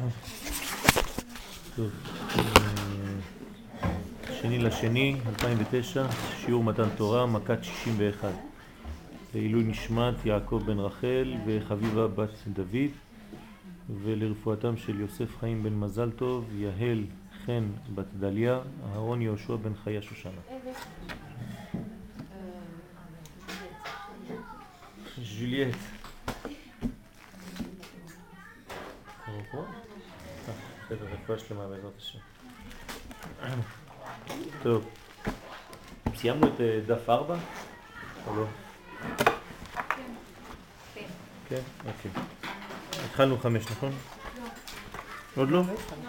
טוב, 2/2/2009, שיעור מתן תורה, מכת 61. לעילוי נשמת יעקב בן רחל וחביבה בת דוד, ולרפואתם של יוסף חיים בן מזל טוב, יהל חן בת דליה, אהרון יהושע בן חיה שושנה. ג'וליאט. בסדר, רפואה שלמה בעזרת השם. טוב, סיימנו את דף 4? או לא? כן, אוקיי. התחלנו 5, נכון? עוד לא?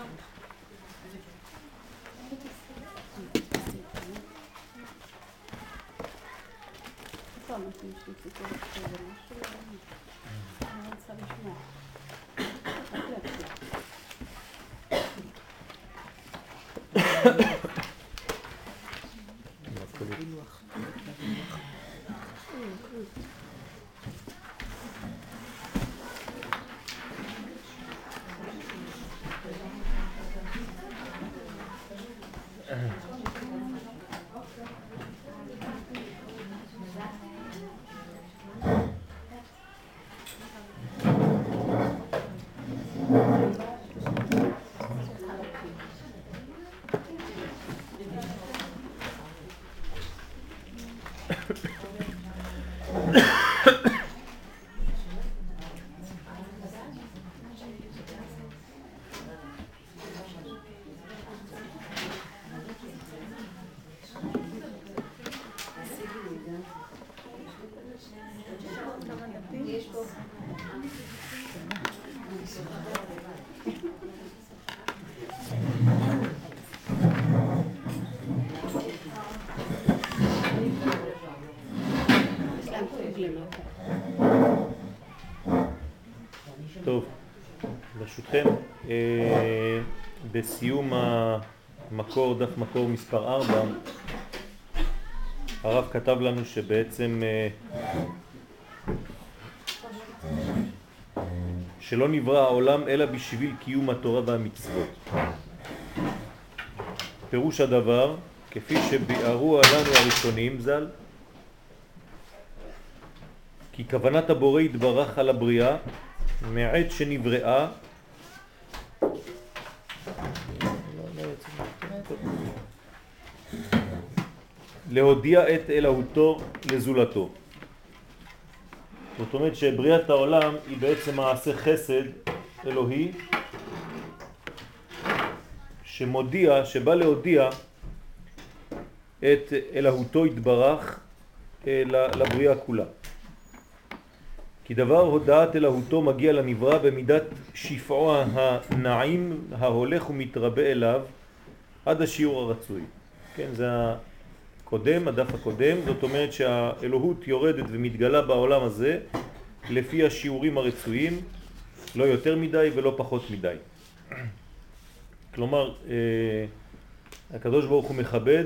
טוב, ברשותכם, בסיום המקור, דף מקור מספר 4, הרב כתב לנו שבעצם שלא נברא העולם אלא בשביל קיום התורה והמצוות. פירוש הדבר, כפי שביארו לנו הראשונים ז"ל, כי כוונת הבורא יתברך על הבריאה מעת שנבראה להודיע את אלוהותו לזולתו. זאת אומרת שבריאת העולם היא בעצם מעשה חסד אלוהי שמודיע, שבא להודיע את אלוהותו יתברך לבריאה כולה. כי דבר הודעת אלוהותו מגיע לנברא במידת שפעו הנעים ההולך ומתרבה אליו עד השיעור הרצוי. כן, זה הקודם, הדף הקודם. זאת אומרת שהאלוהות יורדת ומתגלה בעולם הזה לפי השיעורים הרצויים, לא יותר מדי ולא פחות מדי. כלומר, הקדוש ברוך הוא מכבד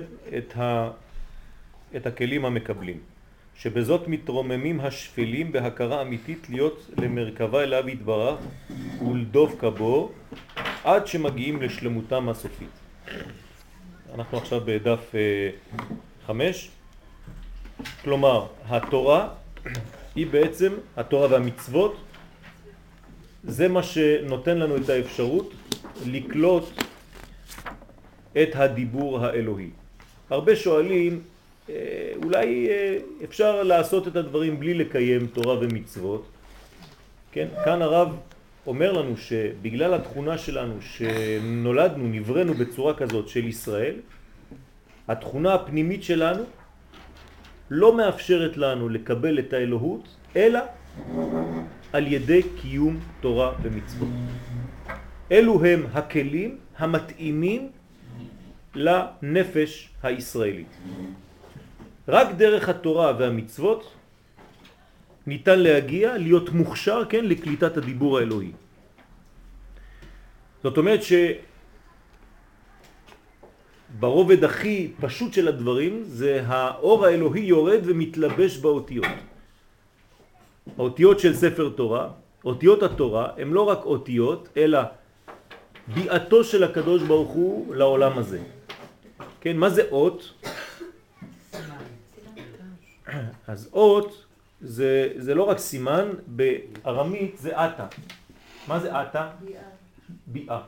את הכלים המקבלים. שבזאת מתרוממים השפלים בהכרה אמיתית להיות למרכבה אליו יתברך ולדבק בו עד שמגיעים לשלמותם הסופית. אנחנו עכשיו בדף 5. כלומר, התורה היא בעצם, התורה והמצוות, זה מה שנותן לנו את האפשרות לקלוט את הדיבור האלוהי. הרבה שואלים, אולי אפשר לעשות את הדברים בלי לקיים תורה ומצוות. כן? כאן הרב אומר לנו שבגלל התכונה שלנו שנולדנו, נבראנו בצורה כזאת של ישראל, התכונה הפנימית שלנו לא מאפשרת לנו לקבל את האלוהות אלא על ידי קיום תורה ומצוות. אלו הם הכלים המתאימים לנפש הישראלית. רק דרך התורה והמצוות ניתן להגיע, להיות מוכשר, כן, לקליטת הדיבור האלוהי. זאת אומרת ברובד הכי פשוט של הדברים זה האור האלוהי יורד ומתלבש באותיות. האותיות של ספר תורה, אותיות התורה, הם לא רק אותיות, אלא ביאתו של הקדוש ברוך הוא לעולם הזה. כן, מה זה אות? אז אות זה לא רק סימן, בארמית זה אתא. מה זה אתא? ביאה.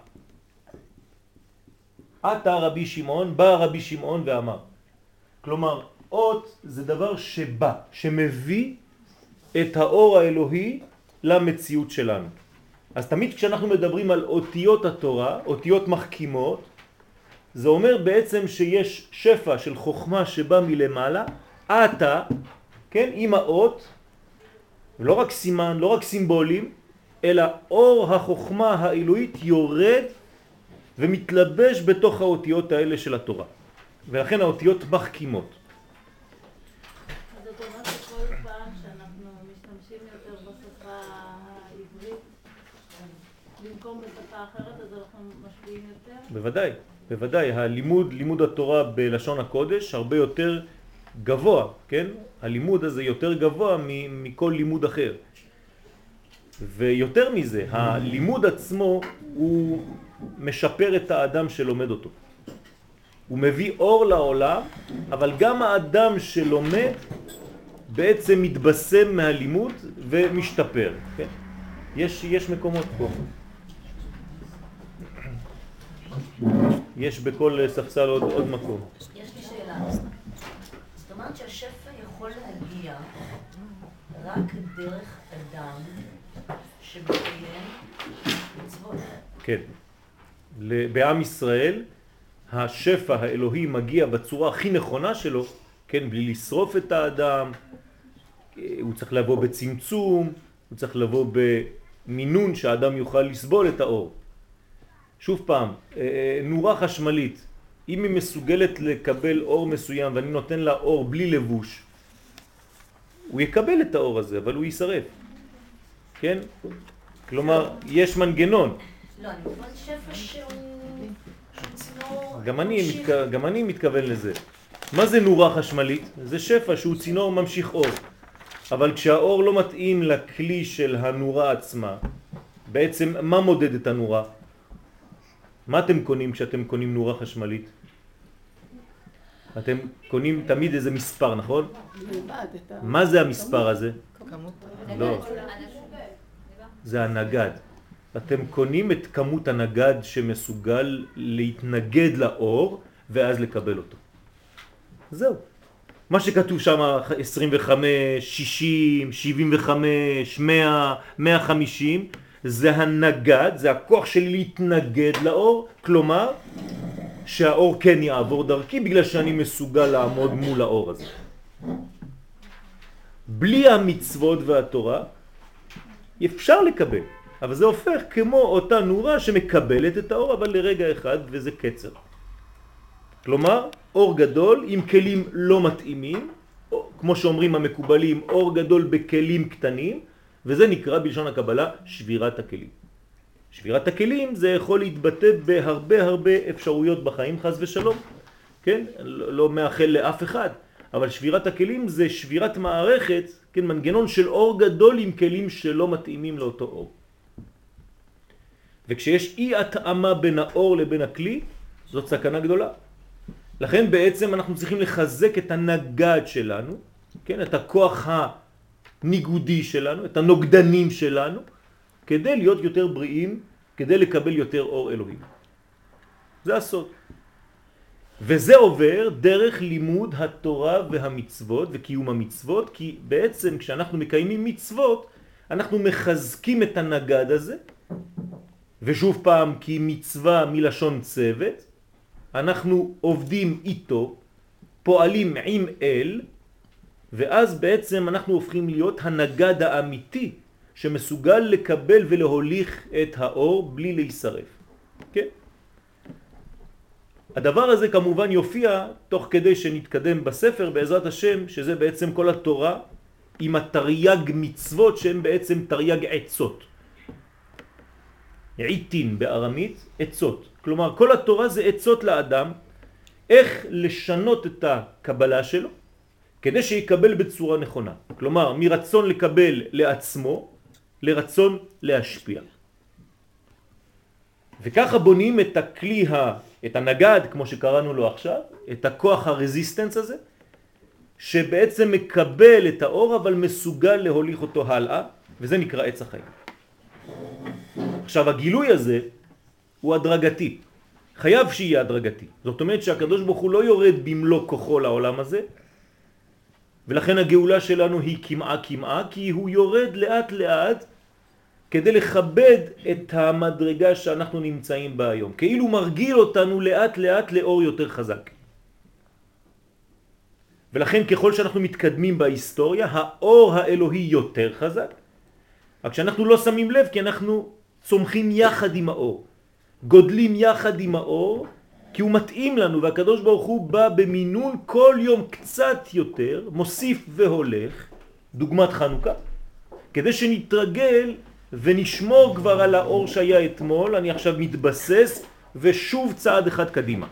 אתא רבי שמעון, בא רבי שמעון ואמר. כלומר, אות זה דבר שבא, שמביא את האור האלוהי למציאות שלנו. אז תמיד כשאנחנו מדברים על אותיות התורה, אותיות מחכימות, זה אומר בעצם שיש שפע של חוכמה שבא מלמעלה, אתה, כן, עם האות, לא רק סימן, לא רק סימבולים, אלא אור החוכמה האלוהית יורד ומתלבש בתוך האותיות האלה של התורה. ולכן האותיות מחכימות. אז זאת אומרת שכל פעם שאנחנו משתמשים יותר בשפה העברית, במקום בשפה אחרת, אז אנחנו משפיעים יותר? בוודאי, בוודאי. לימוד התורה בלשון הקודש הרבה יותר גבוה, כן? הלימוד הזה יותר גבוה מכל לימוד אחר. ויותר מזה, הלימוד עצמו הוא משפר את האדם שלומד אותו. הוא מביא אור לעולם, אבל גם האדם שלומד בעצם מתבשם מהלימוד ומשתפר. כן? יש מקומות פה. יש בכל ספסל עוד מקום. יש לי שאלה. זאת אומרת שהשפע יכול להגיע רק דרך אדם שמקיים מצוות. כן. בעם ישראל השפע האלוהי מגיע בצורה הכי נכונה שלו, כן, בלי לשרוף את האדם, הוא צריך לבוא בצמצום, הוא צריך לבוא במינון שהאדם יוכל לסבול את האור. שוב פעם, נורה חשמלית, אם היא מסוגלת לקבל אור מסוים ואני נותן לה אור בלי לבוש, הוא יקבל את האור הזה, אבל הוא יישרף. כן? כלומר, יש מנגנון. לא, אני מתכוון שפע שהוא צינור... גם אני מתכוון לזה. מה זה נורה חשמלית? זה שפע שהוא צינור ממשיך אור. אבל כשהאור לא מתאים לכלי של הנורה עצמה, בעצם מה מודד את הנורה? מה אתם קונים כשאתם קונים נורה חשמלית? אתם קונים תמיד איזה מספר, נכון? מה זה המספר הזה? לא. זה הנגד. אתם קונים את כמות הנגד שמסוגל להתנגד לאור ואז לקבל אותו. זהו. מה שכתוב שם 25, 60, 75, 100, 150 זה הנגד, זה הכוח שלי להתנגד לאור, כלומר שהאור כן יעבור דרכי בגלל שאני מסוגל לעמוד מול האור הזה. בלי המצוות והתורה אפשר לקבל, אבל זה הופך כמו אותה נורה שמקבלת את האור אבל לרגע אחד וזה קצר. כלומר אור גדול עם כלים לא מתאימים, כמו שאומרים המקובלים, אור גדול בכלים קטנים, וזה נקרא בלשון הקבלה שבירת הכלים. שבירת הכלים זה יכול להתבטא בהרבה אפשרויות בחיים, חס ושלום, כן? לא מאחל לאף אחד, אבל שבירת הכלים זה שבירת מערכת, כן? מנגנון של אור גדול עם כלים שלא מתאימים לאותו אור. וכשיש אי התאמה בין האור לבין הכלי, זאת סכנה גדולה. לכן בעצם אנחנו צריכים לחזק את הנגד שלנו, כן? את הכוח הניגודי שלנו, את הנוגדנים שלנו, כדי להיות יותר בריאים, כדי לקבל יותר אור אלוהים. זה הסוד. וזה עובר דרך לימוד התורה והמצוות וקיום המצוות, כי בעצם כשאנחנו מקיימים מצוות, אנחנו מחזקים את הנגד הזה, ושוב פעם, כי מצווה מלשון צוות, אנחנו עובדים איתו, פועלים עם אל, ואז בעצם אנחנו הופכים להיות הנגד האמיתי, שמסוגל לקבל ולהוליך את האור בלי להישרף. כן? הדבר הזה כמובן יופיע תוך כדי שנתקדם בספר בעזרת השם, שזה בעצם כל התורה עם התרי"ג מצוות שהן בעצם תרי"ג עצות. עיתין בארמית, עצות. כלומר כל התורה זה עצות לאדם איך לשנות את הקבלה שלו כדי שיקבל בצורה נכונה. כלומר מרצון לקבל לעצמו לרצון להשפיע. וככה בונים את הכלי, את הנגד, כמו שקראנו לו עכשיו, את הכוח הרזיסטנס הזה, שבעצם מקבל את האור אבל מסוגל להוליך אותו הלאה, וזה נקרא עץ החיים. עכשיו הגילוי הזה הוא הדרגתי, חייב שיהיה הדרגתי. זאת אומרת שהקדוש ברוך הוא לא יורד במלוא כוחו לעולם הזה, ולכן הגאולה שלנו היא כמעה, כי הוא יורד לאט לאט כדי לכבד את המדרגה שאנחנו נמצאים בה היום. כאילו מרגיל אותנו לאט לאט לאור יותר חזק. ולכן ככל שאנחנו מתקדמים בהיסטוריה, האור האלוהי יותר חזק, רק שאנחנו לא שמים לב כי אנחנו צומחים יחד עם האור. גודלים יחד עם האור, כי הוא מתאים לנו, והקדוש ברוך הוא בא במינון כל יום קצת יותר, מוסיף והולך, דוגמת חנוכה, כדי שנתרגל ונשמור כבר על האור שהיה אתמול. אני עכשיו מתבסס ושוב צעד אחד קדימה.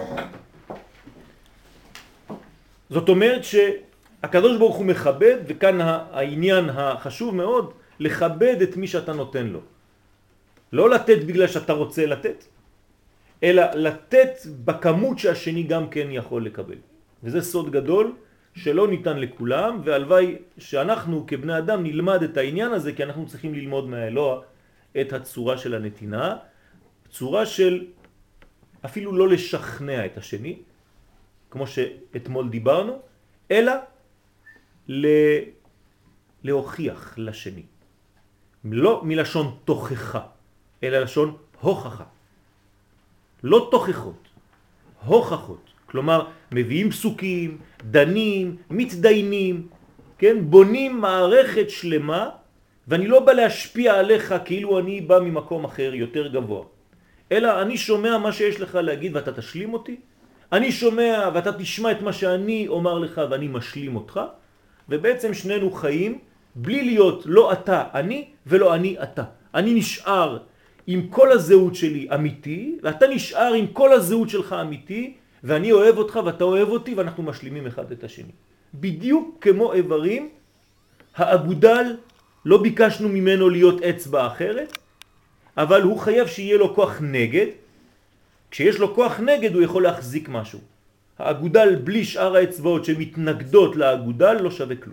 זאת אומרת שהקדוש ברוך הוא מכבד, וכאן העניין החשוב מאוד, לכבד את מי שאתה נותן לו. לא לתת בגלל שאתה רוצה לתת, אלא לתת בכמות שהשני גם כן יכול לקבל. וזה סוד גדול שלא ניתן לכולם, והלוואי שאנחנו כבני אדם נלמד את העניין הזה, כי אנחנו צריכים ללמוד מהאלוה את הצורה של הנתינה, צורה של אפילו לא לשכנע את השני, כמו שאתמול דיברנו, אלא להוכיח לשני. לא מלשון תוכחה, אלא לשון הוכחה. לא תוכחות, הוכחות. כלומר, מביאים פסוקים, דנים, מתדיינים, כן? בונים מערכת שלמה, ואני לא בא להשפיע עליך כאילו אני בא ממקום אחר יותר גבוה. אלא אני שומע מה שיש לך להגיד ואתה תשלים אותי, אני שומע ואתה תשמע את מה שאני אומר לך ואני משלים אותך, ובעצם שנינו חיים בלי להיות לא אתה אני ולא אני אתה. אני נשאר עם כל הזהות שלי אמיתי, ואתה נשאר עם כל הזהות שלך אמיתי, ואני אוהב אותך ואתה אוהב אותי, ואנחנו משלימים אחד את השני. בדיוק כמו איברים, האגודל לא ביקשנו ממנו להיות אצבע אחרת, אבל הוא חייב שיהיה לו כוח נגד. כשיש לו כוח נגד הוא יכול להחזיק משהו. האגודל בלי שאר האצבעות שמתנגדות לאגודל לא שווה כלום.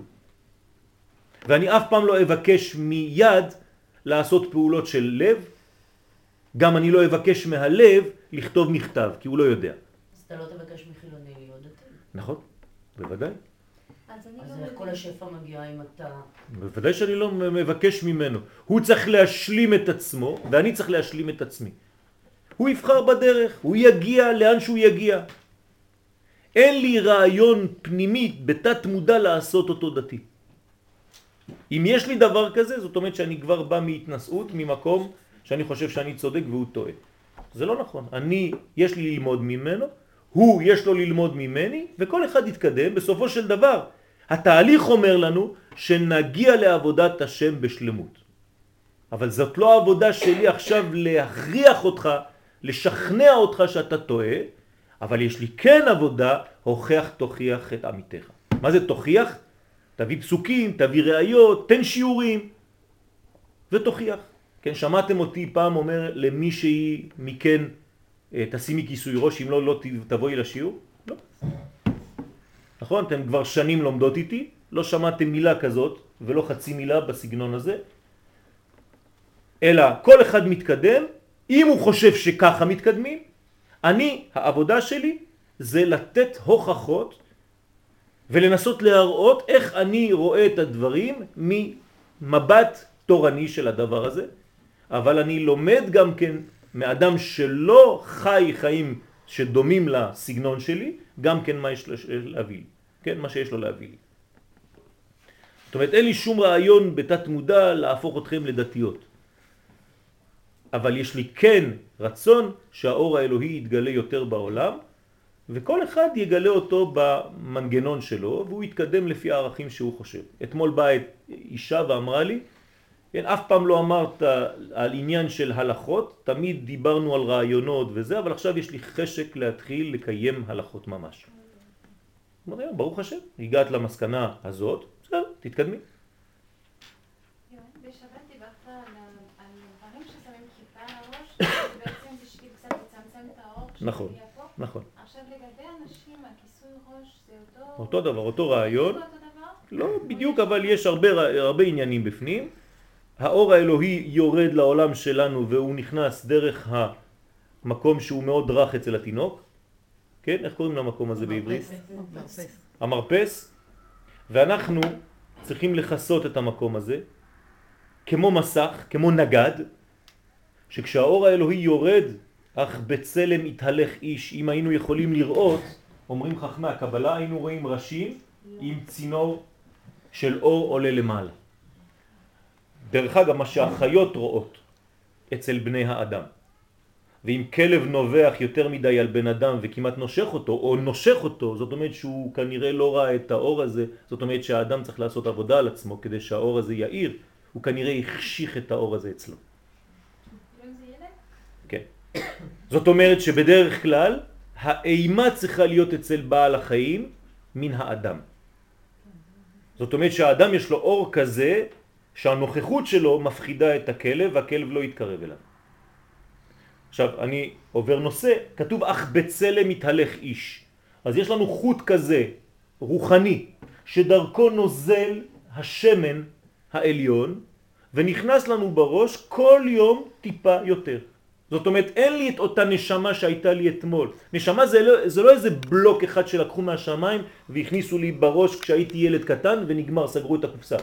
ואני אף פעם לא אבקש מיד לעשות פעולות של לב, גם אני לא אבקש מהלב לכתוב מכתב, כי הוא לא יודע. אז אתה לא תבקש מחילוני להיות דתי. נכון, בוודאי. אז איך כל השפע מגיע אם אתה... בוודאי שאני לא מבקש ממנו. הוא צריך להשלים את עצמו, ואני צריך להשלים את עצמי. הוא יבחר בדרך, הוא יגיע לאן שהוא יגיע. אין לי רעיון פנימי בתת מודע לעשות אותו דתי. אם יש לי דבר כזה, זאת אומרת שאני כבר בא מהתנסות, ממקום שאני חושב שאני צודק והוא טועה. זה לא נכון. יש לי ללמוד ממנו, הוא יש לו ללמוד ממני, וכל אחד יתקדם. בסופו של דבר, התהליך אומר לנו שנגיע לעבודת השם בשלמות. אבל זאת לא העבודה שלי עכשיו להכריח אותך, לשכנע אותך שאתה טועה, אבל יש לי כן עבודה, הוכח תוכיח את עמיתך. מה זה תוכיח? תביא פסוקים, תביא ראיות, תן שיעורים, ותוכיח. כן, שמעתם אותי פעם אומר למישהי מכן, תשימי כיסוי ראש, אם לא תבואי לשיעור? לא. נכון? אתם כבר שנים לומדות איתי, לא שמעתם מילה כזאת, ולא חצי מילה בסגנון הזה, אלא כל אחד מתקדם, אם הוא חושב שככה מתקדמים, העבודה שלי זה לתת הוכחות, ולנסות להראות איך אני רואה את הדברים ממבט תורני של הדבר הזה, אבל אני לומד גם כן מאדם שלא חי חיים שדומים לסגנון שלי, גם כן מה יש לו להביא לי, כן? מה שיש לו להביא לי. זאת אומרת, אין לי שום רעיון בתת מודע להפוך אתכם לדתיות. אבל יש לי כן רצון שהאור האלוהי יתגלה יותר בעולם, וכל אחד יגלה אותו במנגנון שלו, והוא יתקדם לפי הערכים שהוא חושב. אתמול באה אישה ואמרה לי, אף פעם לא אמרת על עניין של הלכות, תמיד דיברנו על רעיונות וזה, אבל עכשיו יש לי חשק להתחיל לקיים הלכות ממש. ברוך השם, הגעת למסקנה הזאת, בסדר, תתקדמי. בשבת דיברת על דברים ששמים כיפה על הראש, בעצם נכון, יעקב? נכון. עכשיו לגבי אנשים, הכיסוי ראש זה אותו דבר, אותו רעיון. אותו דבר? לא בדיוק, אבל יש הרבה עניינים בפנים. האור האלוהי יורד לעולם שלנו והוא נכנס דרך המקום שהוא מאוד רך אצל התינוק. כן? איך קוראים למקום הזה בעברית? המרפס. ואנחנו צריכים לחסות את המקום הזה כמו מסך, כמו נגד, שכשהאור האלוהי יורד, אך בצלם יתהלך איש. אם היינו יכולים לראות, אומרים חכמי הקבלה, היינו רואים ראשים עם צינור של אור עולה למעלה. דרך אגב, מה שהחיות רואות אצל בני האדם. ואם כלב נובח יותר מדי על בן אדם וכמעט נושך אותו, או נושך אותו, זאת אומרת שהוא כנראה לא ראה את האור הזה, זאת אומרת שהאדם צריך לעשות עבודה על עצמו כדי שהאור הזה יאיר, הוא כנראה יחשיך את האור הזה אצלו. כן. זאת אומרת שבדרך כלל האימה צריכה להיות אצל בעל החיים מן האדם. זאת אומרת שהאדם יש לו אור כזה שהנוכחות שלו מפחידה את הכלב והכלב לא יתקרב אליו. עכשיו אני עובר נושא, כתוב אך בצלם יתהלך איש. אז יש לנו חוט כזה רוחני שדרכו נוזל השמן העליון ונכנס לנו בראש כל יום טיפה יותר. זאת אומרת אין לי את אותה נשמה שהייתה לי אתמול. נשמה זה לא איזה בלוק אחד שלקחו מהשמיים והכניסו לי בראש כשהייתי ילד קטן ונגמר, סגרו את הקופסה.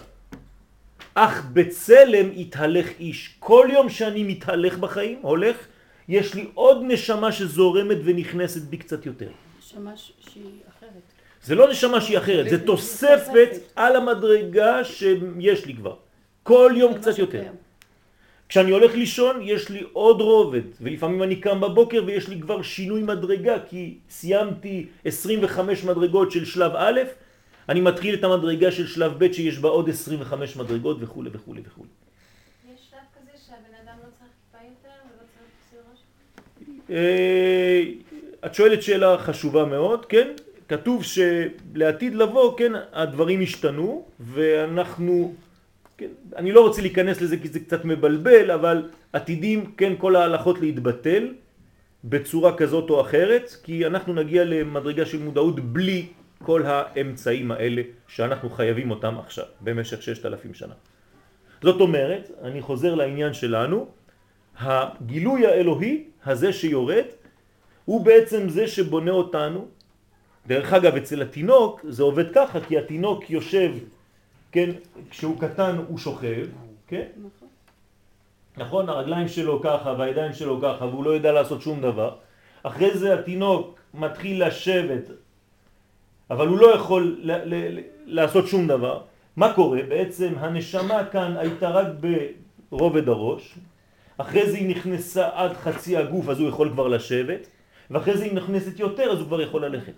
אך בצלם יתהלך איש. כל יום שאני מתהלך בחיים, הולך, יש לי עוד נשמה שזורמת ונכנסת בי קצת יותר. נשמה שהיא אחרת. זה לא נשמה שהיא אחרת, זה תוספת על המדרגה שיש לי כבר. כל יום קצת יותר. כשאני הולך לישון יש לי עוד רובד, ולפעמים אני קם בבוקר ויש לי כבר שינוי מדרגה, כי סיימתי 25 מדרגות של שלב א', אני מתחיל את המדרגה של שלב ב' שיש בה עוד 25 מדרגות וכו' וכו' וכו'. יש שלב כזה שהבן אדם לא צריך כיפה יותר ולא צריך כיסוי ראש? את שואלת שאלה חשובה מאוד, כן? כתוב שלעתיד לבוא, כן, הדברים השתנו, ואנחנו, כן, אני לא רוצה להיכנס לזה כי זה קצת מבלבל, אבל עתידים, כן, כל ההלכות להתבטל בצורה כזאת או אחרת, כי אנחנו נגיע למדרגה של מודעות בלי כל האמצעים האלה שאנחנו חייבים אותם עכשיו, במשך 6,000 שנה. זאת אומרת, אני חוזר לעניין שלנו, הגילוי האלוהי הזה שיורד, הוא בעצם זה שבונה אותנו. דרך אגב, אצל התינוק זה עובד ככה, כי התינוק יושב, כן, כשהוא קטן הוא שוכב, כן? נכון, הרגליים שלו ככה והידיים שלו ככה, והוא לא יודע לעשות שום דבר. אחרי זה התינוק מתחיל לשבת, אבל הוא לא יכול לעשות שום דבר. מה קורה? בעצם הנשמה כאן הייתה רק ברובד הראש, אחרי זה היא נכנסה עד חצי הגוף, אז הוא יכול כבר לשבת, ואחרי זה היא נכנסת יותר, אז הוא כבר יכול ללכת.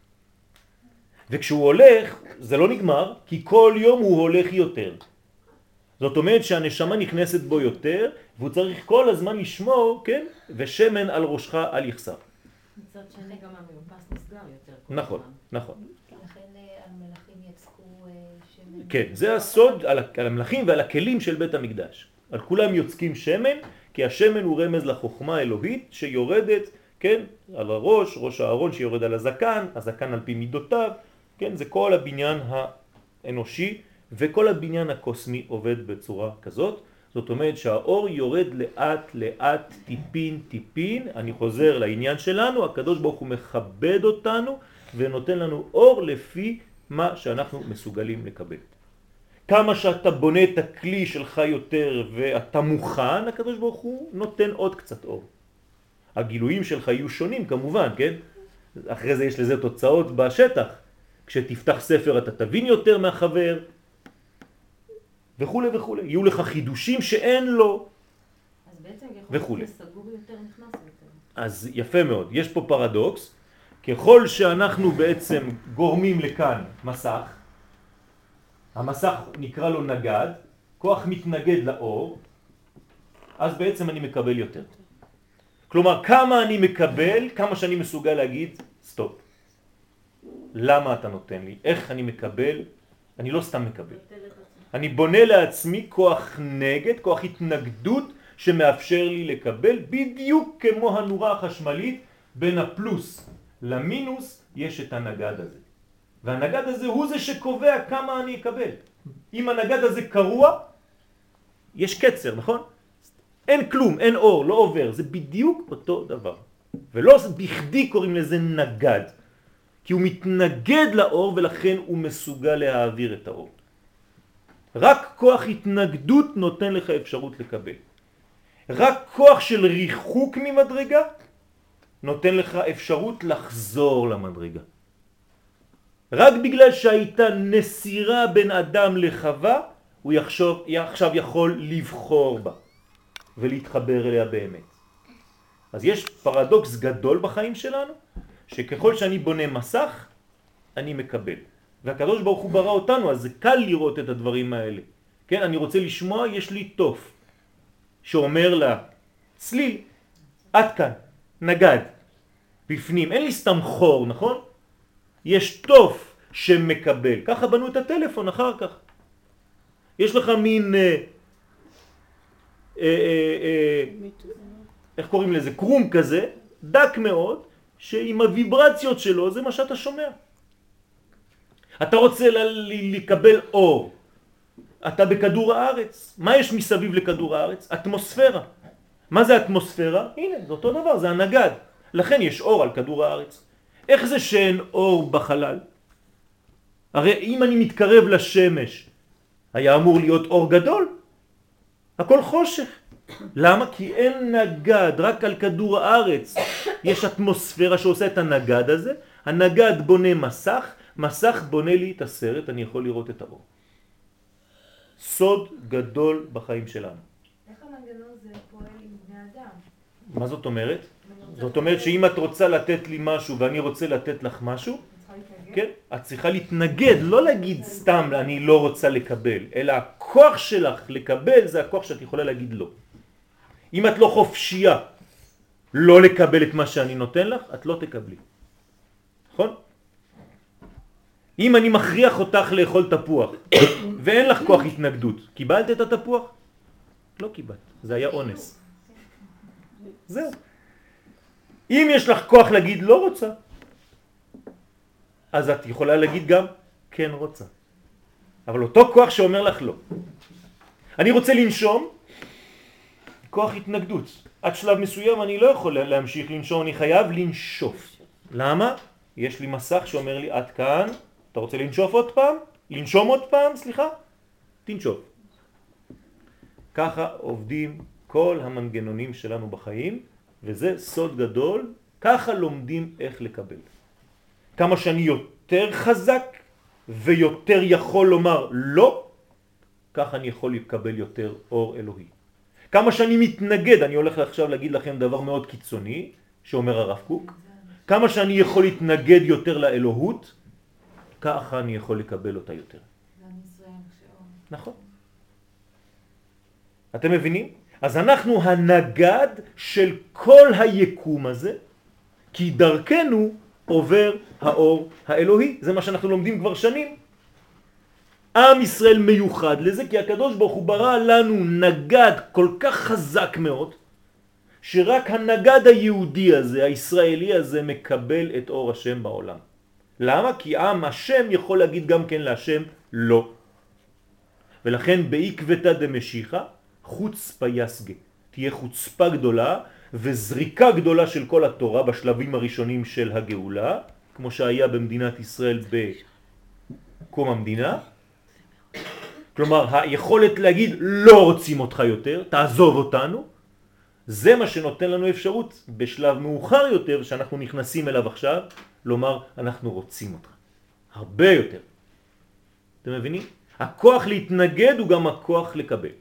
וכשהוא הולך, זה לא נגמר, כי כל יום הוא הולך יותר. זאת אומרת שהנשמה נכנסת בו יותר, והוא צריך כל הזמן לשמור, כן? ושמן על ראשך אל יחסר. מצד שני גם המאופס נסגר יותר. נכון, נכון. לכן המלאכים יצקו שמן. כן, זה הסוד על המלאכים ועל הכלים של בית המקדש. על כולם יוצקים שמן, כי השמן הוא רמז לחוכמה האלוהית שיורדת, כן, על הראש, ראש הארון שיורד על הזקן, הזקן על פי מידותיו, כן, זה כל הבניין האנושי וכל הבניין הקוסמי עובד בצורה כזאת. זאת אומרת שהאור יורד לאט לאט, טיפין טיפין. אני חוזר לעניין שלנו, הקדוש ברוך הוא מכבד אותנו ונותן לנו אור לפי מה שאנחנו מסוגלים לקבל. כמה שאתה בונה את הכלי שלך יותר ואתה מוכן, הקדוש ברוך הוא נותן עוד קצת אור. הגילויים שלך יהיו שונים כמובן, כן? אחרי זה יש לזה תוצאות בשטח. כשתפתח ספר אתה תבין יותר מהחבר וכו' וכו'. יהיו לך חידושים שאין לו אז בעצם וכו'. יכול להיות סגור יותר, נכנס יותר. אז יפה מאוד. יש פה פרדוקס. ככל שאנחנו בעצם גורמים לכאן מסך, המסך נקרא לו נגד, כוח מתנגד לאור, אז בעצם אני מקבל יותר. כלומר, כמה אני מקבל, כמה שאני מסוגל להגיד, סטופ. למה אתה נותן לי? איך אני מקבל? אני לא סתם מקבל. אני בונה לעצמי כוח נגד, כוח התנגדות שמאפשר לי לקבל בדיוק כמו הנורה החשמלית בין הפלוס למינוס יש את הנגד הזה. והנגד הזה הוא זה שקובע כמה אני אקבל. אם הנגד הזה קרוע, יש קצר, נכון? אין כלום, אין אור, לא עובר. זה בדיוק אותו דבר. ולא בכדי קוראים לזה נגד. כי הוא מתנגד לאור ולכן הוא מסוגל להעביר את האור. רק כוח התנגדות נותן לך אפשרות לקבל. רק כוח של ריחוק ממדרגה נותן לך אפשרות לחזור למדרגה. רק בגלל שהייתה נסירה בין אדם לחווה, הוא עכשיו יכול לבחור בה ולהתחבר אליה באמת. אז יש פרדוקס גדול בחיים שלנו, שככל שאני בונה מסך, אני מקבל. והקדוש ברוך הוא ברא אותנו, אז זה קל לראות את הדברים האלה. כן, אני רוצה לשמוע, יש לי תוף, שאומר לה, צליל, עד כאן, נגד, בפנים, אין לי סתם חור, נכון? יש תוף שמקבל, ככה בנו את הטלפון אחר כך. יש לך מין, איך קוראים לזה? קרום כזה, דק מאוד, שעם הוויברציות שלו זה מה שאתה שומע. אתה רוצה לקבל אור, אתה בכדור הארץ. מה יש מסביב לכדור הארץ? אטמוספירה. מה זה אטמוספירה? הנה, זה אותו דבר, זה הנגד. לכן יש אור על כדור הארץ. איך זה שאין אור בחלל? הרי אם אני מתקרב לשמש, היה אמור להיות אור גדול. הכל חושך. למה? כי אין נגד, רק על כדור הארץ יש אטמוספירה שעושה את הנגד הזה. הנגד בונה מסך, מסך בונה לי את הסרט, אני יכול לראות את האור. סוד גדול בחיים שלנו. איך המנגנון זה פועל עם בני אדם? מה זאת אומרת? זאת אומרת שאם את רוצה לתת לי משהו ואני רוצה לתת לך משהו, כן? את צריכה להתנגד, לא להגיד סתם אני לא רוצה לקבל, אלא הכוח שלך לקבל זה הכוח שאת יכולה להגיד לא. אם את לא חופשייה לא לקבל את מה שאני נותן לך, את לא תקבלי. נכון? אם אני מכריח אותך לאכול תפוח ואין לך כוח התנגדות, קיבלת את התפוח? לא קיבלת, זה היה אונס. זהו. אם יש לך כוח להגיד לא רוצה, אז את יכולה להגיד גם כן רוצה. אבל אותו כוח שאומר לך לא. אני רוצה לנשום, כוח התנגדות. עד שלב מסוים אני לא יכול להמשיך לנשום, אני חייב לנשוף. למה? יש לי מסך שאומר לי עד כאן, אתה רוצה לנשוף עוד פעם? לנשום עוד פעם, סליחה? תנשוף. ככה עובדים כל המנגנונים שלנו בחיים, וזה סוד גדול, ככה לומדים איך לקבל. כמה שאני יותר חזק ויותר יכול לומר לא, ככה אני יכול לקבל יותר אור אלוהי. כמה שאני מתנגד, אני הולך עכשיו להגיד לכם דבר מאוד קיצוני, שאומר הרב קוק, כמה שאני יכול להתנגד יותר לאלוהות, ככה אני יכול לקבל אותה יותר. נכון. אתם מבינים? אז אנחנו הנגד של כל היקום הזה, כי דרכנו עובר האור האלוהי. זה מה שאנחנו לומדים כבר שנים. עם ישראל מיוחד לזה, כי הקדוש ברוך הוא ברא לנו נגד כל כך חזק מאוד, שרק הנגד היהודי הזה, הישראלי הזה, מקבל את אור השם בעולם. למה? כי עם השם יכול להגיד גם כן להשם לא. ולכן בעקבתא דמשיחא חוצפה יסגה. תהיה חוצפה גדולה וזריקה גדולה של כל התורה בשלבים הראשונים של הגאולה, כמו שהיה במדינת ישראל בקום המדינה. כלומר, היכולת להגיד לא רוצים אותך יותר, תעזוב אותנו, זה מה שנותן לנו אפשרות בשלב מאוחר יותר, שאנחנו נכנסים אליו עכשיו, לומר אנחנו רוצים אותך. הרבה יותר. אתם מבינים? הכוח להתנגד הוא גם הכוח לקבל.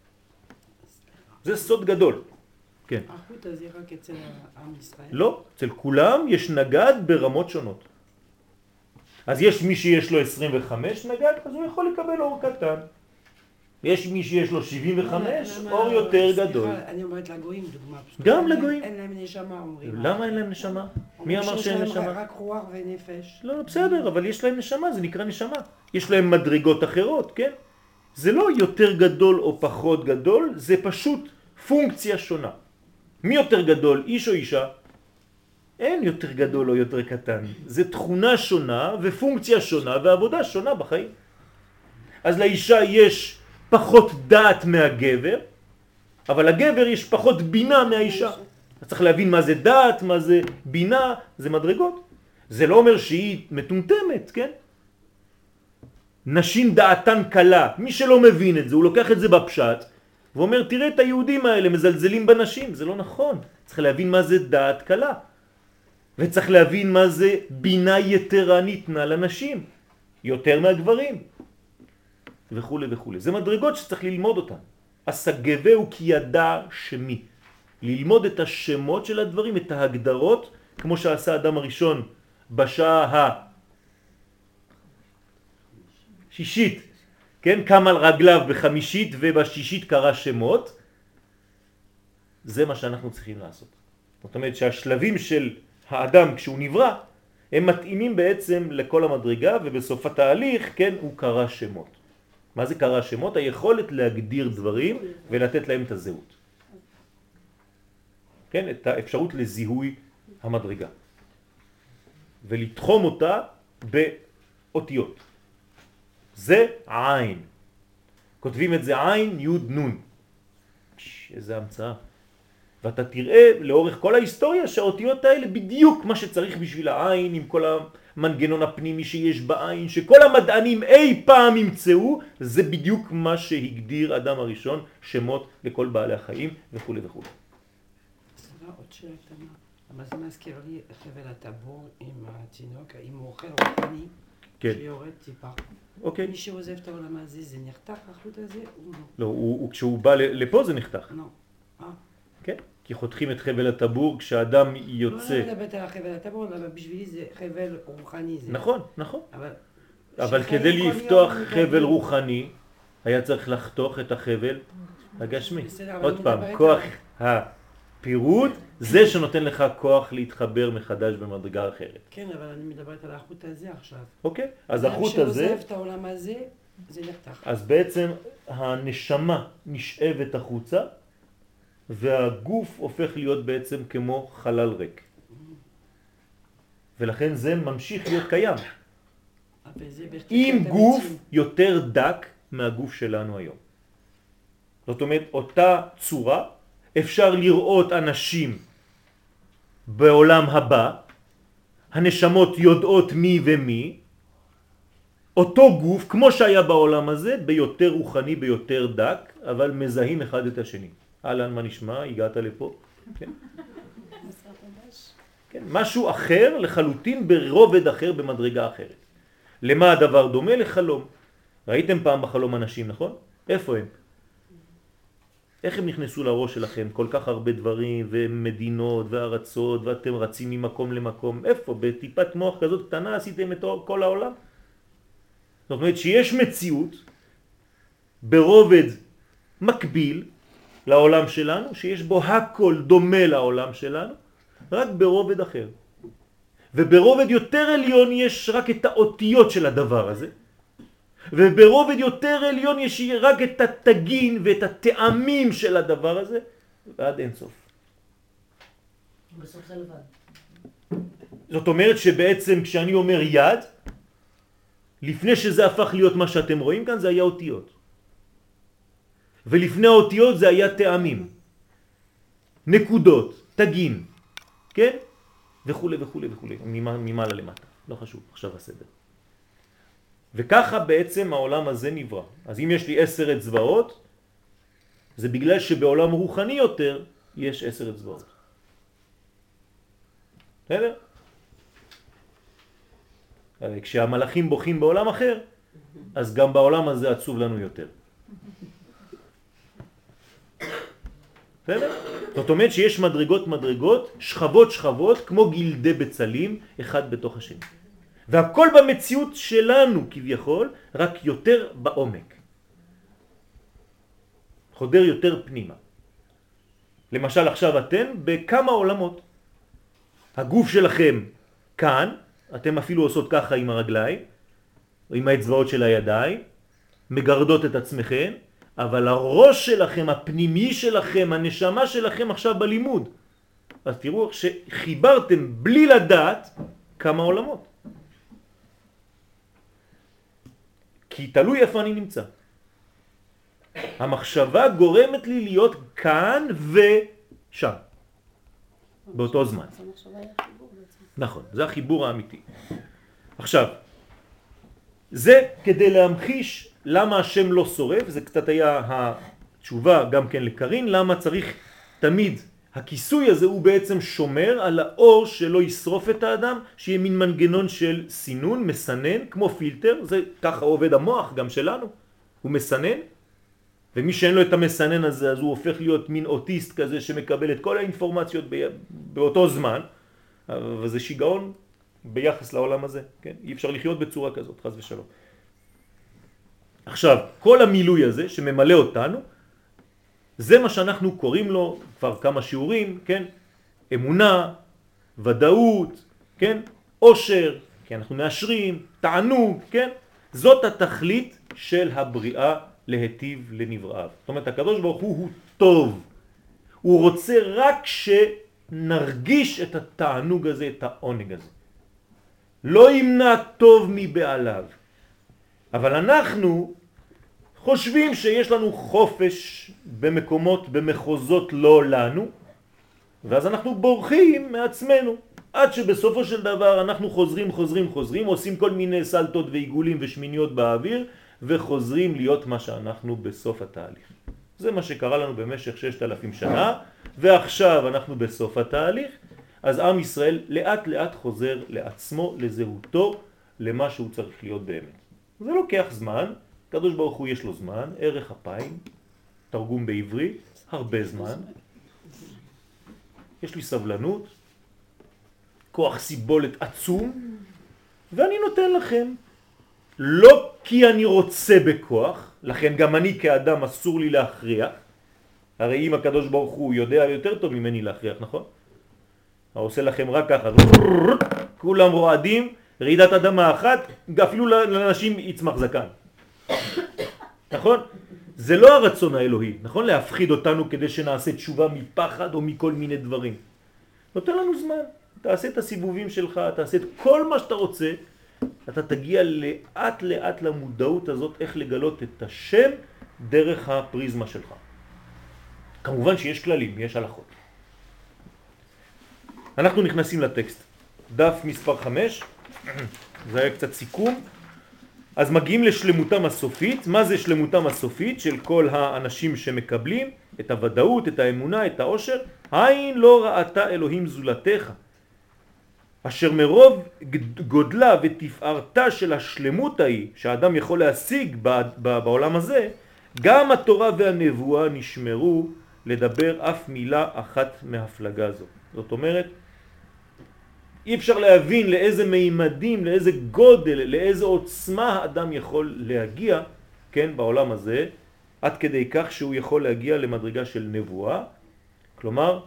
זה סוד גדול. כן. החוט הזה רק אצל עם ישראל? לא, אצל כולם יש נגד ברמות שונות. אז יש מי שיש לו 25 נגד, אז הוא יכול לקבל אור קטן. יש מי שיש לו 75, אור יותר גדול. אני אומרת לגויים דוגמה. גם לגויים. אין להם נשמה אומרים. למה אין להם נשמה? מי אמר שאין נשמה? רק רוח ונפש. לא, בסדר, אבל יש להם נשמה, זה נקרא נשמה. יש להם מדרגות אחרות, כן? זה לא יותר גדול או פחות גדול, זה פשוט פונקציה שונה. מי יותר גדול, איש או אישה? אין יותר גדול או יותר קטן. זה תכונה שונה ופונקציה שונה ועבודה שונה בחיים. אז לאישה יש פחות דעת מהגבר, אבל לגבר יש פחות בינה מהאישה. אז צריך להבין מה זה דעת, מה זה בינה, זה מדרגות. זה לא אומר שהיא מטומטמת, כן? נשים דעתן קלה. מי שלא מבין את זה, הוא לוקח את זה בפשט, ואומר, תראה את היהודים האלה מזלזלים בנשים. זה לא נכון. צריך להבין מה זה דעת קלה. וצריך להבין מה זה בינה יתרה ניתנה לנשים. יותר מהגברים. וכו' וכו'. זה מדרגות שצריך ללמוד אותן. הסגבהו כי ידע שמי. ללמוד את השמות של הדברים, את ההגדרות, כמו שעשה האדם הראשון בשעה השישית, כן? קם על רגליו בחמישית ובשישית קרא שמות. זה מה שאנחנו צריכים לעשות. זאת אומרת שהשלבים של האדם כשהוא נברא, הם מתאימים בעצם לכל המדרגה, ובסוף התהליך, כן, הוא קרא שמות. מה זה קרא שמות? היכולת להגדיר דברים ולתת להם את הזהות. כן, את האפשרות לזיהוי המדרגה. ולתחום אותה באותיות. זה עין. כותבים את זה עין, יוד, נון. איזה המצאה. ואתה תראה לאורך כל ההיסטוריה שהאותיות האלה בדיוק מה שצריך בשביל העין, עם כל המנגנון הפנימי שיש בעין, שכל המדענים אי פעם ימצאו, זה בדיוק מה שהגדיר אדם הראשון, שמות לכל בעלי החיים וכו' וכו'. סליחה, עוד שאלה קטנה. אבל זה מזכיר לי חבל הטבור עם התינוק, אם הוא אוכל רוחני, כן. שיורד טיפה. אוקיי. מי שעוזב את העולם הזה, זה נחתך החוט הזה או לא, לא? כשהוא בא לפה זה נחתך. לא. כן? כי חותכים את חבל הטבור כשאדם יוצא. לא מדברת על החבל הטבור, אבל בשבילי זה חבל רוחני. נכון, נכון. אבל שחיים כדי כל לפתוח יום חבל מדברים. רוחני, היה צריך לחתוך את החבל הגשמי. בסדר, אבל עוד אני פעם, מדברת כוח על- הפירוד זה שנותן לך כוח להתחבר מחדש במדרגה אחרת. כן, אבל אני מדברת על החוט הזה עכשיו. אוקיי? אז החוט הזה, שעוזב את העולם הזה, זה נחתך. אז בעצם הנשמה נשאבת החוצה, והגוף הופך להיות בעצם כמו חלל ריק. ולכן זה ממשיך להיות קיים. אבל זה בהחלט עם אתה גוף מציב. יותר דק מהגוף שלנו היום. זאת אומרת, אותה צורה, אפשר לראות אנשים בעולם הבא, הנשמות יודעות מי ומי, אותו גוף, כמו שהיה בעולם הזה, ביותר רוחני, ביותר דק, אבל מזהים אחד את השני. אהלן, מה נשמע? הגעת לפה? כן. כן, משהו אחר לחלוטין ברובד אחר, במדרגה אחרת. למה הדבר דומה? לחלום. ראיתם פעם בחלום אנשים, נכון? איפה הם? איך הם נכנסו לראש שלכם? כל כך הרבה דברים ומדינות וארצות ואתם רצים ממקום למקום. איפה? בטיפת מוח כזאת קטנה עשיתם את כל העולם? זאת אומרת שיש מציאות ברובד מקביל לעולם שלנו, שיש בו הכל דומה לעולם שלנו, רק ברובד אחר. וברובד יותר עליון יש רק את האותיות של הדבר הזה, וברובד יותר עליון יש רק את התגין ואת הטעמים של הדבר הזה, ועד אין סוף. בסוף זה לבד. זאת אומרת שבעצם כשאני אומר יד, לפני שזה הפך להיות מה שאתם רואים כאן, זה היה אותיות. ולפני האותיות זה היה טעמים, נקודות, תגין, כן? וכו' וכו' וכו', ממעלה למטה, לא חשוב, עכשיו הסדר. וככה בעצם העולם הזה נברא. אז אם יש לי 10 אצבעות, זה בגלל שבעולם רוחני יותר יש 10 אצבעות. בסדר? כשהמלאכים בוכים בעולם אחר, אז גם בעולם הזה עצוב לנו יותר. בסדר? זאת אומרת שיש מדרגות, שכבות, כמו גלדי בצלים, אחד בתוך השני. והכל במציאות שלנו כביכול, רק יותר בעומק. חודר יותר פנימה. למשל עכשיו אתם בכמה עולמות. הגוף שלכם כאן, אתם אפילו עושות ככה עם הרגליים, או עם האצבעות של הידיים, מגרדות את עצמכם, אבל הראש שלכם, הפנימי שלכם, הנשמה שלכם עכשיו בלימוד. אז תראו שחיברתם בלי לדעת כמה עולמות. כי תלוי איפה אני נמצא. המחשבה גורמת לי להיות כאן ושם, באותו זמן. נכון, זה החיבור האמיתי. עכשיו, זה כדי להמחיש למה השם לא שורף, זה קצת היה התשובה גם כן לקרין, למה צריך תמיד, הכיסוי הזה הוא בעצם שומר על האור שלא ישרוף את האדם, שיהיה מין מנגנון של סינון, מסנן, כמו פילטר, זה ככה עובד המוח גם שלנו, הוא מסנן, ומי שאין לו את המסנן הזה, אז הוא הופך להיות מין אוטיסט כזה שמקבל את כל האינפורמציות באותו זמן, וזה שיגעון ביחס לעולם הזה, כן? אי אפשר לחיות בצורה כזאת, חס ושלום. עכשיו, כל המילוי הזה שממלא אותנו, זה מה שאנחנו קוראים לו כבר כמה שיעורים, כן? אמונה, ודאות, כן? עושר, כי אנחנו מאשרים, תענוג, כן? זאת התכלית של הבריאה להטיב לנבראיו. זאת אומרת, הקדוש ברוך הוא טוב. הוא רוצה רק שנרגיש את התענוג הזה, את העונג הזה. לא ימנע טוב מבעליו. אבל אנחנו חושבים שיש לנו חופש במקומות, במחוזות לא לנו, ואז אנחנו בורחים מעצמנו, עד שבסופו של דבר אנחנו חוזרים, עושים כל מיני סלטות ועיגולים ושמיניות באוויר, וחוזרים להיות מה שאנחנו בסוף התהליך. זה מה שקרה לנו במשך 6,000 שנה, ועכשיו אנחנו בסוף התהליך, אז עם ישראל לאט לאט חוזר לעצמו, לזהותו, למה שהוא צריך להיות באמת. זה לוקח זמן, קדוש ברוך הוא יש לו זמן, ערך אפיים, תרגום בעברי, הרבה זמן. יש לי סבלנות, כוח סיבולת עצום, ואני נותן לכם, לא כי אני רוצה בכוח, לכן גם אני כאדם אסור לי להכריח, הרי אם הקדוש ברוך הוא יודע יותר טוב ממני להכריח, נכון? הוא עושה לכם רק ככה, כולם רועדים, רעידת אדמה אחת, אפילו לאנשים יצמח זקן. נכון? זה לא הרצון האלוהי, נכון? להפחיד אותנו כדי שנעשה תשובה מפחד או מכל מיני דברים. נותן לנו זמן, תעשה את הסיבובים שלך, תעשה את כל מה שאתה רוצה, אתה תגיע לאט לאט למודעות הזאת איך לגלות את השם דרך הפריזמה שלך. כמובן שיש כללים, יש הלכות. אנחנו נכנסים לטקסט. דף מספר 5, זה היה קצת סיכום. אז מגיעים לשלמותם הסופית. מה זה שלמותם הסופית של כל האנשים שמקבלים את הוודאות, את האמונה, את העושר? עין לא ראתה אלוהים זולתך, אשר מרוב גודלה ותפארתה של השלמות ההיא שהאדם יכול להשיג בעולם הזה, גם התורה והנבואה נשמרו לדבר אף מילה אחת מהפלגה זו. זאת אומרת, אי אפשר להבין לאיזה מימדים, לאיזה גודל, לאיזה עוצמה האדם יכול להגיע, כן, בעולם הזה, עד כדי כך שהוא יכול להגיע למדרגה של נבואה. כלומר,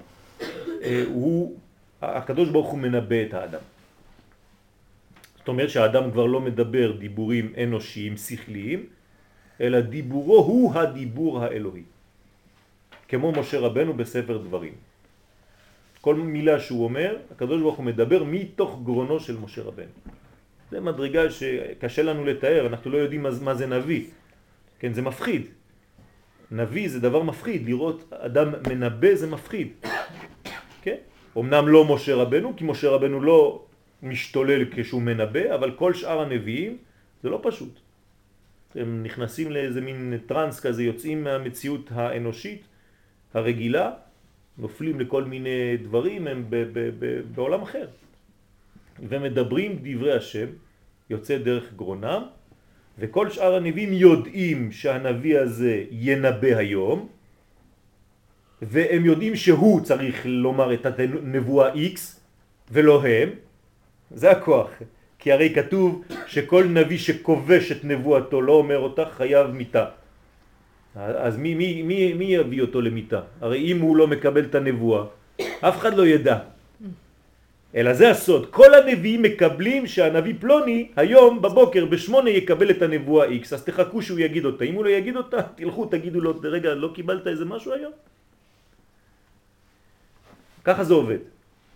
הקדוש ברוך הוא מנבא את האדם. זאת אומרת שהאדם כבר לא מדבר דיבורים אנושיים, שכליים, אלא דיבורו הוא הדיבור האלוהי. כמו משה רבנו בספר דברים. כל מילה שהוא אומר, הקדוש ברוך הוא מדבר מתוך גרונו של משה רבנו. זה מדרגה שקשה לנו לתאר, אנחנו לא יודעים מה זה נביא. כן, זה מפחיד. נביא זה דבר מפחיד, לראות אדם מנבא זה מפחיד. כן? אמנם לא משה רבנו, כי משה רבנו לא משתולל כשהוא מנבא, אבל כל שאר הנביאים זה לא פשוט. הם נכנסים לאיזה מין טרנס כזה, יוצאים מהמציאות האנושית הרגילה, נופלים לכל מיני דברים, הם בעולם אחר. ומדברים דברי השם, יוצא דרך גרונם, וכל שאר הנביאים יודעים שהנביא הזה ינבא היום, והם יודעים שהוא צריך לומר את הנבואה X, ולא הם. זה הכוח. כי הרי כתוב שכל נביא שכובש את נבואתו לא אומר אותה חייב מיתה. אז מי יביא אותו למיתה? הרי אם הוא לא מקבל את הנבואה, אף אחד לא ידע. אלא זה הסוד. כל הנביאים מקבלים שהנביא פלוני היום בבוקר ב8 יקבל את הנבואה X. אז תחכו שהוא יגיד אותה. אם הוא לא יגיד אותה, תלכו תגידו לו, רגע, לא קיבלת איזה משהו היום? ככה זה עובד.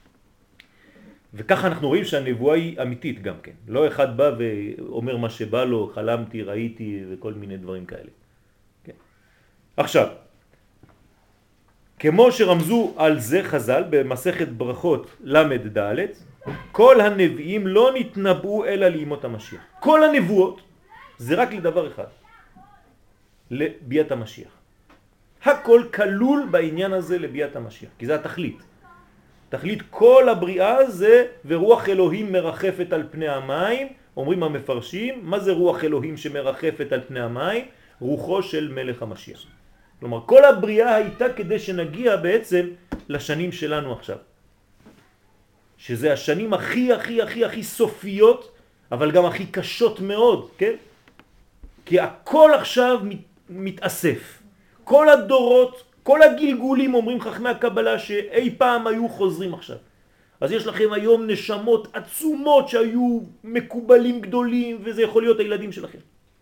וככה אנחנו רואים שהנבואה היא אמיתית גם כן. לא אחד בא ואומר מה שבא לו, חלמתי, ראיתי וכל מיני דברים כאלה. כן. עכשיו, כמו שרמזו על זה חז"ל במסכת ברכות למד ד', כל הנביאים לא נתנבאו אלא לימות המשיח. כל הנבואות זה רק לדבר אחד, לביאת המשיח. הכל כלול בעניין הזה לביאת המשיח, כי זה התכלית. תכלית כל הבריאה זה ורוח אלוהים מרחפת על פני המים. אומרים המפרשים, מה זה רוח אלוהים שמרחפת על פני המים? רוחו של מלך המשיח. כלומר, כל הבריאה הייתה כדי שנגיע בעצם לשנים שלנו עכשיו. שזה השנים הכי הכי הכי הכי סופיות, אבל גם הכי קשות מאוד, כן? כי הכל עכשיו מתאסף. כל הדורות, כל הגלגולים, אומרים חכמי הקבלה, שאי פעם היו חוזרים עכשיו. אז יש לכם היום נשמות עצומות שהיו מקובלים גדולים, וזה יכול להיות הילדים שלכם.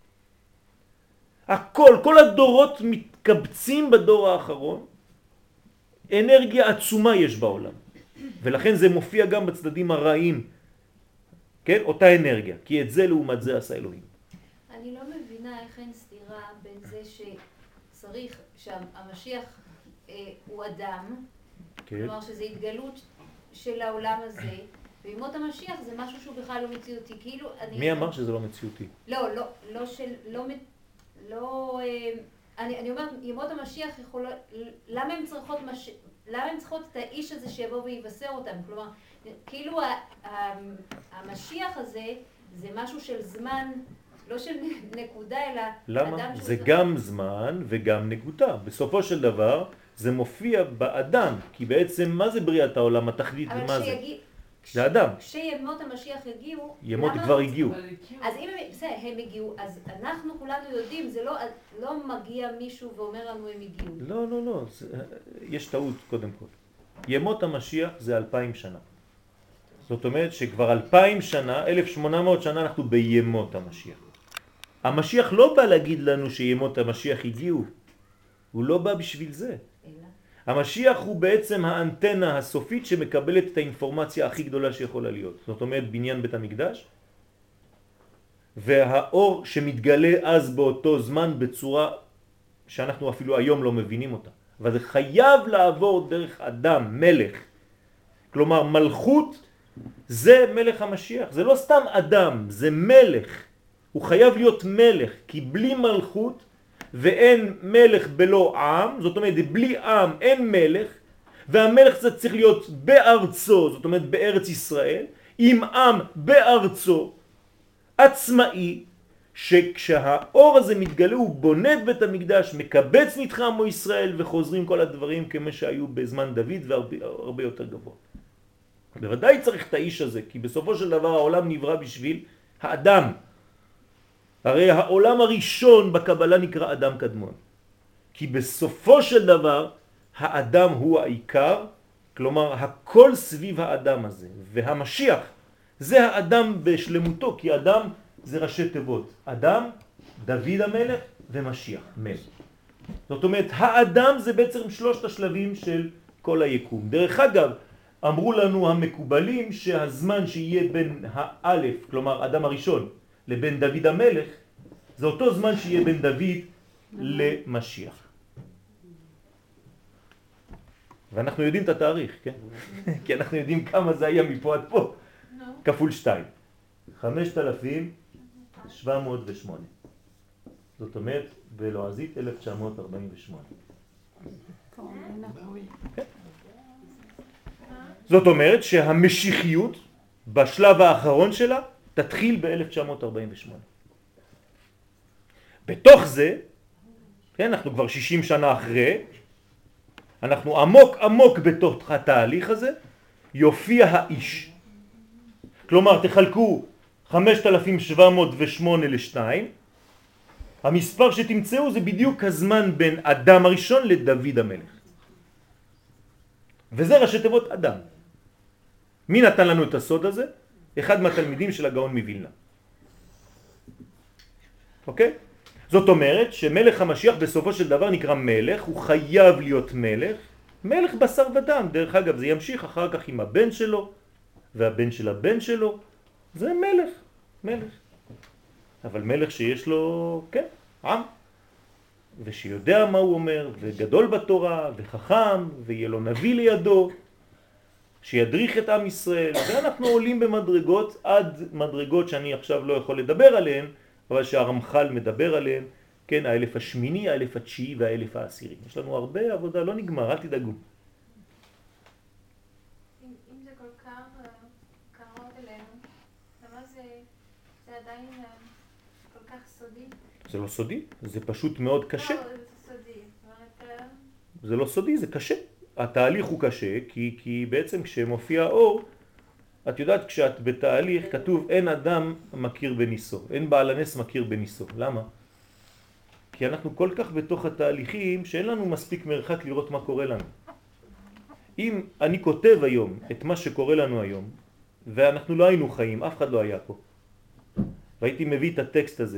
הכל, כל הדורות מתקבצים בדור האחרון, אנרגיה עצומה יש בעולם. ולכן זה מופיע גם בצדדים הרעים, כן? אותה אנרגיה, כי את זה לעומת זה עשה אלוהים. אני לא מבינה איך אין סתירה בין זה שצריך, שהמשיח הוא אדם, כן. כלומר שזה התגלות של העולם הזה, וימות המשיח זה משהו שהוא בכלל לא מציאותי, כאילו מי אמר שזה לא מציאותי? אני אומרת, ימות המשיח יכול, למה הן צריכות את האיש הזה שיבוא ויבשר אותם? כלומר, כאילו המשיח הזה זה משהו של זמן, לא של נקודה, אלא למה? זה גם זמן וגם נקודה. בסופו של דבר זה מופיע באדם, כי בעצם מה זה בריאת העולם, התכלית ומה זה? זה אדם. כשימות המשיח יגיעו, ימות כבר הגיעו. אז אם הם הגיעו, אז אנחנו כולנו יודעים, זה לא מגיע מישהו ואומר לנו הם הגיעו. לא, לא, לא, יש טעות קודם כל. ימות המשיח זה 2000 שנה. זאת אומרת שכבר 2000 שנה, 1800 שנה אנחנו בימות המשיח. המשיח לא בא להגיד לנו שימות המשיח הגיעו. הוא לא בא בשביל זה. המשיח הוא בעצם האנטנה הסופית שמקבלת את האינפורמציה הכי גדולה שיכולה להיות. זאת אומרת בניין בית המקדש, והאור שמתגלה אז באותו זמן בצורה שאנחנו אפילו היום לא מבינים אותה. אבל זה חייב לעבור דרך אדם, מלך. כלומר מלכות זה מלך המשיח. זה לא סתם אדם, זה מלך. הוא חייב להיות מלך, כי בלי מלכות ואין מלך בלא עם, זאת אומרת בלי עם אין מלך, והמלך זה צריך להיות בארצו, זאת אומרת בארץ ישראל, עם עם בארצו, עצמאי, שכשהאור הזה מתגלה הוא בונה את בית המקדש, מקבץ נדחי עמו ישראל, וחוזרים כל הדברים כמו שהיו בזמן דוד והרבה יותר גבוה. בוודאי צריך את האיש הזה, כי בסופו של דבר העולם נברא בשביל האדם. הרי העולם הראשון בקבלה נקרא אדם קדמון. כי בסופו של דבר האדם הוא העיקר, כלומר הכל סביב האדם הזה. והמשיח זה האדם בשלמותו, כי אדם זה ראשי תיבות. אדם, דוד המלך ומשיח, מלך. זאת אומרת, האדם זה בעצם שלושת השלבים של כל היקום. דרך אגב, אמרו לנו המקובלים שהזמן שיהיה בין האלף, כלומר אדם הראשון, לבין דוד המלך, זה אותו זמן שיהיה בין דוד למשיח. ואנחנו יודעים את התאריך, כן? כי אנחנו יודעים כמה זה היה מפה עד פה. כפול 2. 5708. זאת אומרת, בלועזית 1948. זאת אומרת שהמשיחיות בשלב האחרון שלה תתחיל ב-1948. בתוך זה, כן, אנחנו כבר 60 שנה אחרי, אנחנו עמוק עמוק בתוך התהליך הזה, יופיע האיש. כלומר, תחלקו 5708 ל-2, המספר שתמצאו זה בדיוק הזמן בין אדם הראשון לדוד המלך. וזה ראשי תיבות אדם. מי נתן לנו את הסוד הזה? אחד מהתלמידים של הגאון מווילנה. אוקיי? זאת אומרת שמלך המשיח בסופו של דבר נקרא מלך, הוא חייב להיות מלך. מלך בשר ודם. דרך אגב, זה ימשיך אחר כך עם הבן שלו, והבן של הבן שלו. זה מלך, מלך. אבל מלך שיש לו, כן, עם. ושיודע מה הוא אומר, וגדול בתורה, וחכם, ויהיה לו נביא לידו, שידריך את עם ישראל. ואנחנו עולים במדרגות, עד מדרגות שאני עכשיו לא יכול לדבר עליהן, אבל שהרמח"ל מדבר עליהן, כן, האלף השמיני, האלף התשיעי והאלף העשירי. יש לנו הרבה עבודה, לא נגמר, אל תדאגו. אם זה כל כך קרוב אלינו, למה זה עדיין כל כך סודי? זה לא סודי, זה פשוט מאוד קשה. לא, זה סודי. זה לא סודי, זה קשה. התהליך הוא קשה, כי בעצם כשמופיע האור, את יודעת, כשאת בתהליך כתוב אין אדם מכיר בניסו, אין בעל הנס מכיר בניסו. למה? כי אנחנו כל כך בתוך התהליכים שאין לנו מספיק מרחק לראות מה קורה לנו. אם אני כותב היום את מה שקורה לנו היום, ואנחנו לא היינו חיים, אף אחד לא היה פה, והייתי מביא את הטקסט הזה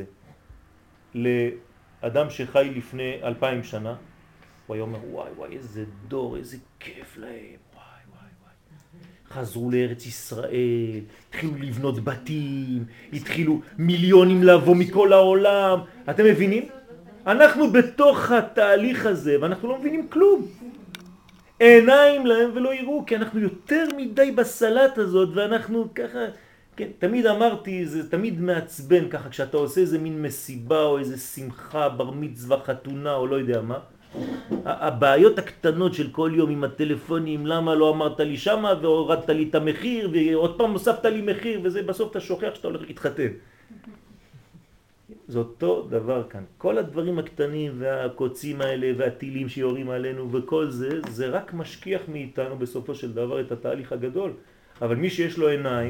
לאדם שחי לפני 2000 שנה, הוא היה אומר, וואי וואי, איזה דור, איזה כיף להם, וואי וואי וואי. חזרו לארץ ישראל, התחילו לבנות בתים, התחילו מיליונים לבוא מכל העולם. אתם מבינים? אנחנו בתוך התהליך הזה, ואנחנו לא מבינים כלום. עיניים להם ולא יראו, כי אנחנו יותר מדי בסלט הזאת, ואנחנו ככה, כן, תמיד אמרתי, זה תמיד מעצבן ככה, כשאתה עושה איזה מין מסיבה, או איזה שמחה, בר מצווה, חתונה, או לא יודע מה. הבעיות הקטנות של כל יום עם הטלפונים, למה לא אמרת לי שמה, והורדת לי את המחיר, ועוד פעם הוספת לי מחיר, וזה בסוף אתה שוכח שאתה הולך להתחתן. זה אותו דבר כאן. כל הדברים הקטנים והקוצים האלה והטילים שיורים עלינו וכל זה, זה רק משכיח מאיתנו בסופו של דבר את התהליך הגדול. אבל מי שיש לו עיניים,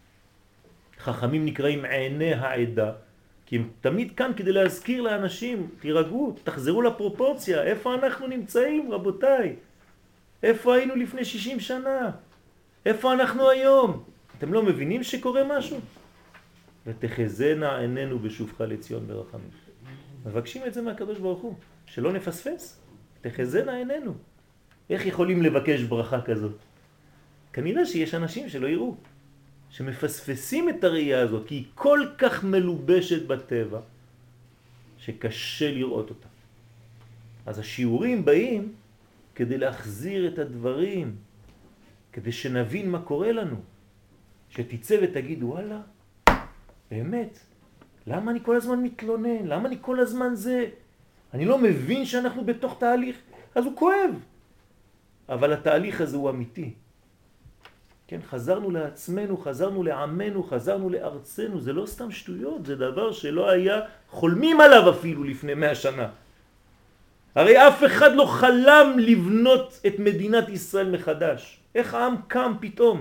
חכמים נקראים עיני העדה, כי הם תמיד כאן כדי להזכיר לאנשים, תירגעו, תחזרו לפרופורציה, איפה אנחנו נמצאים רבותיי? איפה היינו לפני 60 שנה? איפה אנחנו היום? אתם לא מבינים שקורה משהו? ותחזנה עינינו בשובך לציון ברחמים. מבקשים את זה מהקדוש ברוך הוא, שלא נפספס. תחזנה עינינו. איך יכולים לבקש ברכה כזאת? כנראה שיש אנשים שלא יראו, שמפספסים את הראייה הזאת, כי היא כל כך מלובשת בטבע, שקשה לראות אותה. אז השיעורים באים כדי להחזיר את הדברים, כדי שנבין מה קורה לנו. שתצא ותגיד, וואלה, באמת, למה אני כל הזמן מתלונן? למה אני כל הזמן זה? אני לא מבין שאנחנו בתוך תהליך, אז הוא כואב. אבל התהליך הזה הוא אמיתי. כן, חזרנו לעצמנו, חזרנו לעמנו, חזרנו לארצנו, זה לא סתם שטויות, זה דבר שלא היה חולמים עליו אפילו לפני 100 שנה. הרי אף אחד לא חלם לבנות את מדינת ישראל מחדש. איך העם קם פתאום?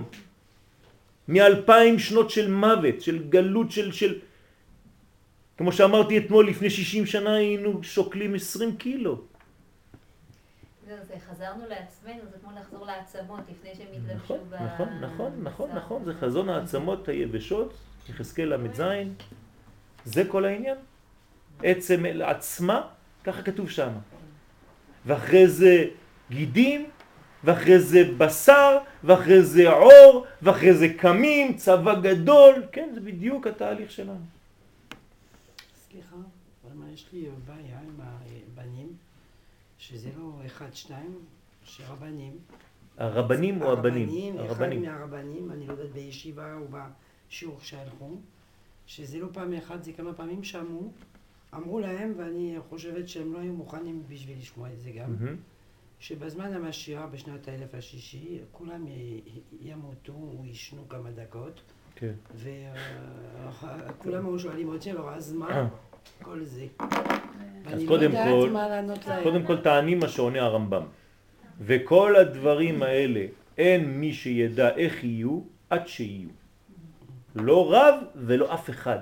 מ2000 שנות של מוות, של גלות, כמו שאמרתי אתמול, לפני 60 שנה היינו שוקלים 20 קילו. זה חזרנו לעצמנו, זה כמו לחזור לעצמות לפני שהם התלבשו נכון, זה חזון העצמות היבשות, יחזקאל ל"ז, זה כל העניין. עצם עצמה, ככה כתוב שם. ואחרי זה גידים, ואחרי זה בשר, ואחרי זה עור, ואחרי זה קמים, צבא גדול, כן, זה בדיוק התהליך שלנו. סליחה, אבל מה יש לי בעיה עם הבנים, שזה לא 1-2, שרבנים. הרבנים או הבנים? הרבנים. אחד מהרבנים, אני לא יודעת בישיבה או בשיעור שהלכו, שזה לא פעם אחת, זה כמה פעמים שמעו, אמרו להם, ואני חושבת שהם לא היו מוכנים בשביל לשמוע את זה גם, שבזמן המשיח בשנת 1006 כולם ימותו או ישנו כמה דקות, וכולם היו שואלים אותי, אז מה כל זה? אז קודם כל טענים מה שעונה הרמב"ם, וכל הדברים האלה אין מי שידע איך יהיו עד שיהיו, לא רב ולא אף אחד.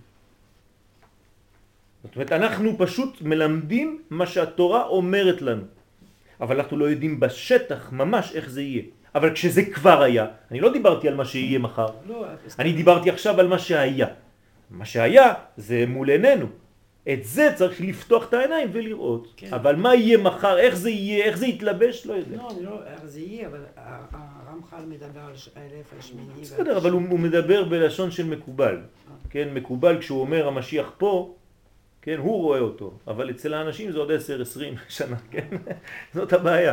זאת אומרת, אנחנו פשוט מלמדים מה שהתורה אומרת לנו, אבל אנחנו לא יודעים בשטח ממש איך זה יהיה. אבל כשזה כבר היה, אני לא דיברתי על מה שיהיה מחר, אני דיברתי עכשיו על מה שהיה. מה שהיה זה מול עינינו. את זה צריך לפתוח את העיניים ולראות. כן. אבל מה יהיה מחר, איך זה יהיה, איך זה יתלבש, לא יודע. לא, אני לא, איך זה יהיה, אבל הרמח"ל מדבר על האלף השמיני. בסדר, אבל הוא מדבר בלשון של מקובל. כן, מקובל כשהוא אומר המשיח פה, כן, הוא רואה אותו. אבל אצל האנשים זה עוד 10-20 שנה, כן? זאת הבעיה.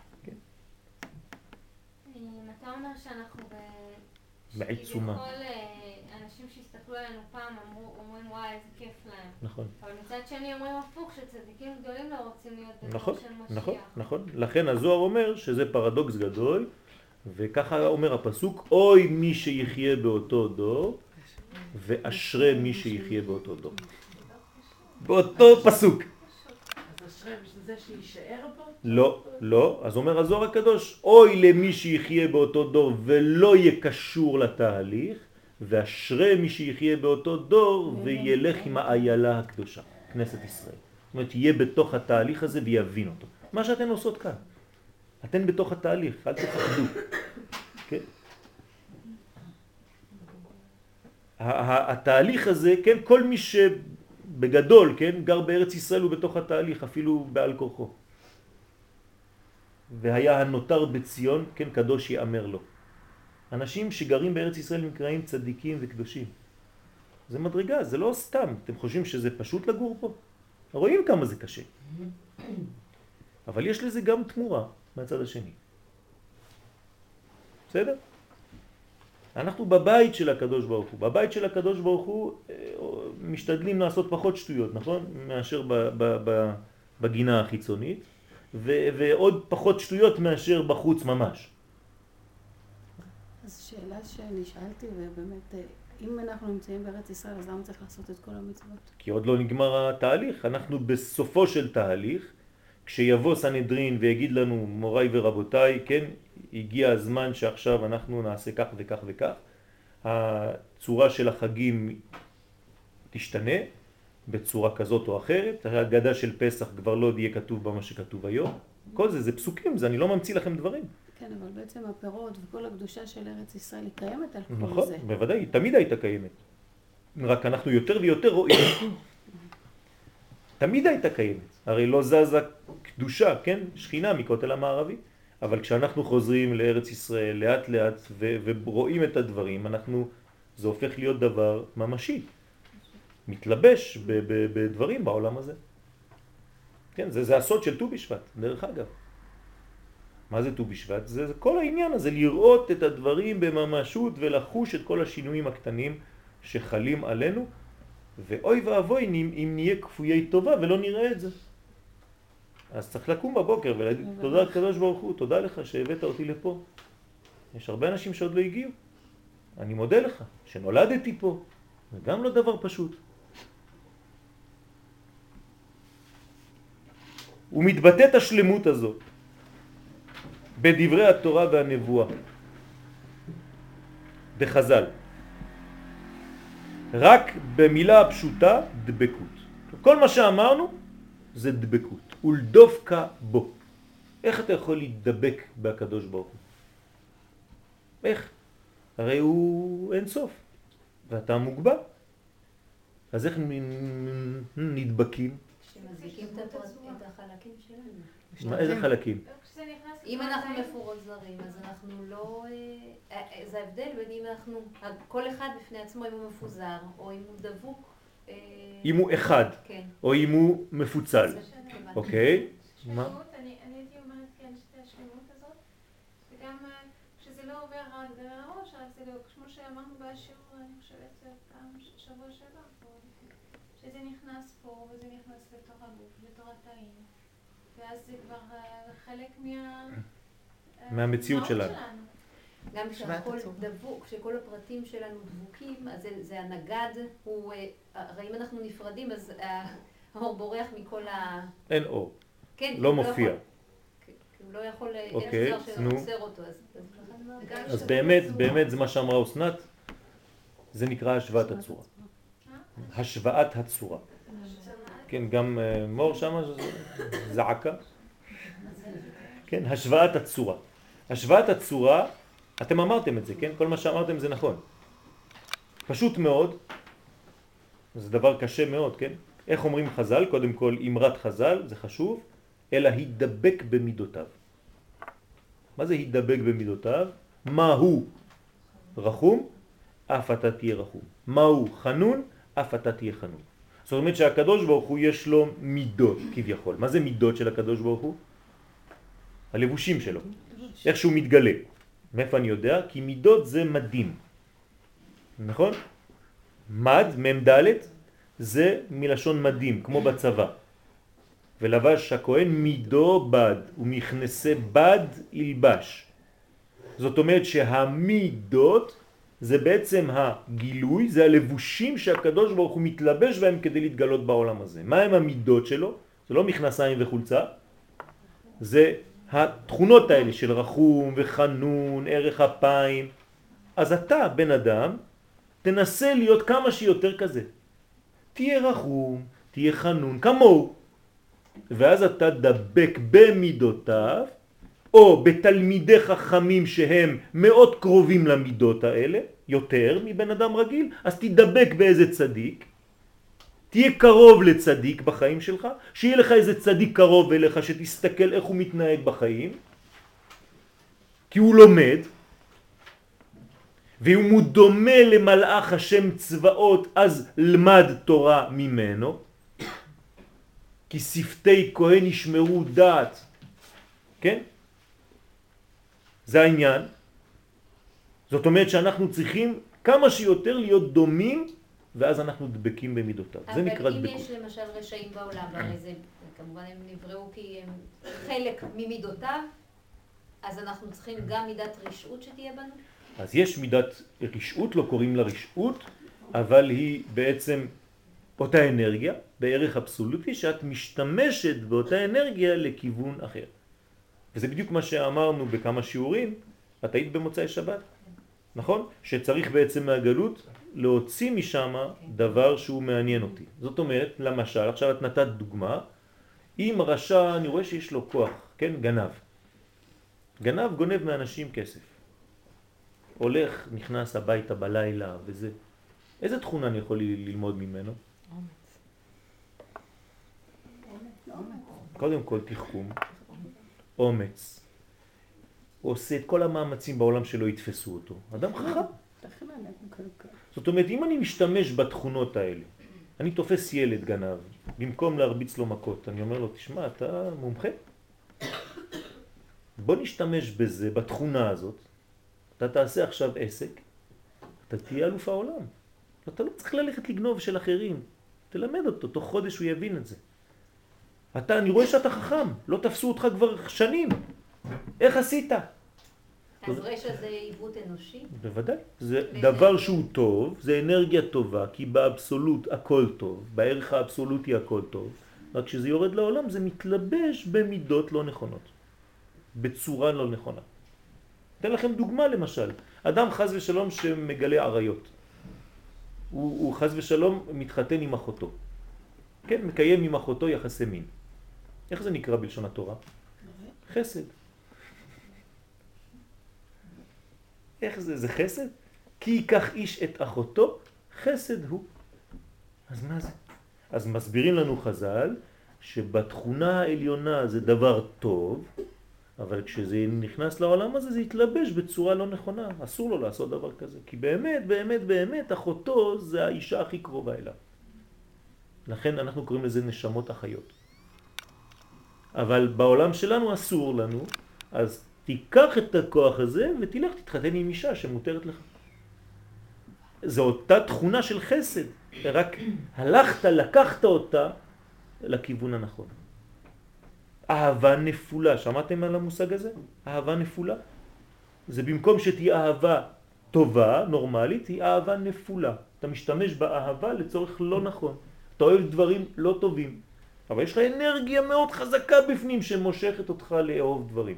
אתה אומר שאנחנו בעיצומה. שכביכול אנשים שהסתכלו עלינו פעם אומרים וואי איזה כיף להם. נכון. אבל מצד שני אומרים הפוך שצדיקים גדולים לא רוצים להיות בדור נכון, של משיח. נכון, נכון. לכן הזוהר אומר שזה פרדוקס גדול, וככה אומר הפסוק, אוי מי שיחיה באותו דור, ואשרי מי שיחיה באותו דור. באותו פסוק. אז אשרי בשביל זה שיישאר פה? לא, לא. אז אומר הזוהר הקדוש, אוי למי שיחיה באותו דור ולא יהיה קשור לתהליך, ואשרי מי שיחיה באותו דור וילך עם האיילה הקדושה, כנסת ישראל. זאת אומרת, יהיה בתוך התהליך הזה ויבין אותו. מה שאתן עושות כאן. אתן בתוך התהליך, אל תפחדו. כן? התהליך הזה, כן, כל מי שבגדול, כן, גר בארץ ישראל הוא בתוך התהליך, אפילו בעל כורחו. והיה הנותר בציון, כן, קדוש יאמר לו. אנשים שגרים בארץ ישראל נקראים צדיקים וקדושים. זה מדרגה, זה לא סתם. אתם חושבים שזה פשוט לגור פה? רואים כמה זה קשה. אבל יש לזה גם תמורה מהצד השני. בסדר? אנחנו בבית של הקדוש ברוך הוא. בבית של הקדוש ברוך הוא משתדלים לעשות פחות שטויות, נכון? מאשר בגינה החיצונית, ועוד פחות שטויות מאשר בחוץ ממש. אז שאלה שנשאלתי, ובאמת, אם אנחנו נמצאים בארץ ישראל, אז למה צריך לעשות את כל המצוות? כי עוד לא נגמר התהליך. אנחנו בסופו של תהליך, כשיבוא סנהדרין ויגיד לנו, מוריי ורבותיי, כן, הגיע הזמן שעכשיו אנחנו נעשה כך וכך וכך, הצורה של החגים תשתנה בצורה כזאת או אחרת, ההגדה של פסח כבר לא יהיה כתוב במה שכתוב היום, כל זה פסוקים, זה אני לא ממציא לכם דברים. כן, אבל בעצם הפירות וכל הקדושה של ארץ ישראל היא קיימת על כל נכון, זה. בוודאי, היא תמיד הייתה קיימת. רק אנחנו יותר ויותר רואים. תמיד הייתה קיימת. הרי לא זזה קדושה, כן? שכינה מכותל המערבי. אבל כשאנחנו חוזרים לארץ ישראל לאט לאט ורואים את הדברים, זה הופך להיות דבר ממשי. מתלבש בדברים בעולם הזה. כן, זה הסוד של ט"ו בשבט, דרך אגב. מה זה ט"ו בשבט? זה כל העניין הזה, לראות את הדברים בממשות ולחוש את כל השינויים הקטנים שחלים עלינו, ואוי ואבוי אם נהיה כפויי טובה ולא נראה את זה. אז צריך לקום בבוקר ולהגיד תודה הקדוש ברוך הוא, תודה לך שהבאת אותי לפה. יש הרבה אנשים שעוד לא הגיעו. אני מודה לך שנולדתי פה. זה גם לא דבר פשוט. ומתבטאת השלמות הזאת בדברי התורה והנבואה בחז"ל. רק במילה הפשוטה דבקות. כל מה שאמרנו זה דבקות. ולדבקה בו. איך אתה יכול להידבק בקדוש ברוך הוא? איך? הרי הוא אין סוף. ואתה מוגבל. אז איך נדבקים? שמזיקים את החלקים שלנו. איזה חלקים? אם אנחנו מפורזרים, אז אנחנו לא... זה ההבדל בין אם אנחנו... כל אחד בפני עצמו, אם הוא מפוזר, או אם הוא דבוק... אם הוא אחד, כן. או אם הוא מפוצל. אוקיי? שלמות, אני הייתי אומרת כן, שתי השלמות הזאת, וגם כשזה לא עובר רק דרך הראש, אז זה לא, כמו שאמרנו בשיעור, אני חושבת, פעם שבוע שעבר פה, שזה נכנס פה, וזה נכנס לתוך הגוף, לתוך התאים, ואז זה כבר חלק מהמציאות שלנו. גם כשהכל דבוק, כשכל הפרטים שלנו דבוקים, אז זה הנגד, הרי אם אנחנו נפרדים, אז האור בורח מכל ה... אין אור. כן, לא מופיע. הוא לא יכול, אוקיי, יש דבר שעוצר אותו, אז באמת זה מה שאמרה אסנת, זה נקרא השוואת הצורה. השוואת הצורה. כן, גם מור שם זעקה. כן, השוואת הצורה. השוואת הצורה, אתם אמרתם את זה, כן? כל מה שאמרתם זה נכון. פשוט מאוד, זה דבר קשה מאוד, כן? איך אומרים חז"ל? קודם כל אמרת חז"ל, זה חשוב, אלא הידבק במידותיו. מה זה הידבק במידותיו? מה הוא רחום? אף אתה תהיה רחום. מה הוא חנון? אף אתה תהיה חנון. זאת אומרת שהקדוש ברוך הוא יש לו מידות כביכול. מה זה מידות של הקדוש ברוך הוא? הלבושים שלו. איך שהוא מתגלה. מאיפה אני יודע? כי מידות זה מדים. נכון? מד, ממדלת, זה מלשון מדים, כמו בצבא. ולבש הכהן מידו בד, ומכנסי בד ילבש. זאת אומרת שהמידות זה בעצם הגילוי, זה הלבושים שהקדוש ברוך הוא מתלבש בהם כדי להתגלות בעולם הזה. מה הם המידות שלו? זה לא מכנסיים וחולצה, זה התכונות האלה של רחום וחנון, ערך אפיים. אז אתה, בן אדם, תנסה להיות כמה שיותר כזה. תהיה רחום, תהיה חנון, כמוהו. ואז אתה דבק במידותיו, או בתלמידי חכמים שהם מאוד קרובים למידות האלה, יותר מבן אדם רגיל, אז תדבק באיזה צדיק, תהיה קרוב לצדיק בחיים שלך, שיהיה לך איזה צדיק קרוב אליך שתסתכל איך הוא מתנהג בחיים, כי הוא לומד, ואם הוא דומה למלאך השם צבאות, אז למד תורה ממנו, כי שפתי כהן ישמרו דעת, כן? זה העניין. זאת אומרת שאנחנו צריכים כמה שיותר להיות דומים, ואז אנחנו דבקים במידותיו. זה נקרא דבקות. אבל אם יש למשל רשעים בעולם, והרי זה כמובן הם נבראו כי הם חלק ממידותיו, אז אנחנו צריכים גם מידת רשעות שתהיה בנו? אז יש מידת רשעות, לא קוראים לה רשעות, אבל היא בעצם אותה אנרגיה, בערך אבסולוטי, שאת משתמשת באותה אנרגיה לכיוון אחר. וזה בדיוק מה שאמרנו בכמה שיעורים, את היית במוצאי שבת, נכון? שצריך בעצם מהגלות להוציא משם דבר שהוא מעניין אותי. זאת אומרת, למשל, עכשיו את נתת דוגמה, אם רשע, אני רואה שיש לו כוח, כן? גנב. גנב גונב מאנשים כסף. הולך, נכנס הביתה בלילה וזה. איזה תכונה אני יכול ללמוד ממנו? קודם כל תחכום, אומץ. הוא עושה את כל המאמצים בעולם שלא יתפסו אותו. אדם חכם. זאת אומרת, אם אני משתמש בתכונות האלה, אני תופס ילד גנב, במקום להרביץ לו מכות, אני אומר לו, תשמע, אתה מומחה? בוא נשתמש בזה, בתכונה הזאת. אתה תעשה עכשיו עסק, אתה תהיה אלוף העולם. אתה לא צריך ללכת לגנוב של אחרים. תלמד אותו, תוך חודש הוא יבין את זה. אני רואה שאתה חכם, לא תפסו אותך כבר שנים. איך עשית? אז רשע זה עיוות אנושי? בוודאי. זה דבר שהוא טוב, זה אנרגיה טובה, כי באבסולוט הכל טוב, בערך האבסולוטי הכל טוב. רק כשזה יורד לעולם זה מתלבש במידות לא נכונות. בצורה לא נכונה. אתן לכם דוגמה למשל. אדם חז ושלום שמגלה עריות. הוא חז ושלום מתחתן עם אחותו. כן, מקיים עם אחותו יחסי מין. איך זה נקרא בלשון התורה? חסד. איך זה? זה חסד? כי ייקח איש את אחותו, חסד הוא. אז מה זה? אז מסבירים לנו חז"ל שבתכונה העליונה זה דבר טוב, אבל כשזה נכנס לעולם הזה זה יתלבש בצורה לא נכונה. אסור לו לעשות דבר כזה. כי באמת, באמת, באמת, אחותו זה האישה הכי קרובה אליו. לכן אנחנו קוראים לזה נשמות החיות. אבל בעולם שלנו אסור לנו, אז תיקח את הכוח הזה ותלך תתחתן עם אישה שמותרת לך. זו אותה תכונה של חסד, רק הלכת, לקחת אותה לכיוון הנכון. אהבה נפולה, שמעתם על המושג הזה? אהבה נפולה. זה במקום שתהיה אהבה טובה, נורמלית, היא אהבה נפולה. אתה משתמש באהבה לצורך לא נכון. אתה אוהב דברים לא טובים. אבל יש לך אנרגיה מאוד חזקה בפנים שמושכת אותך לאהוב דברים.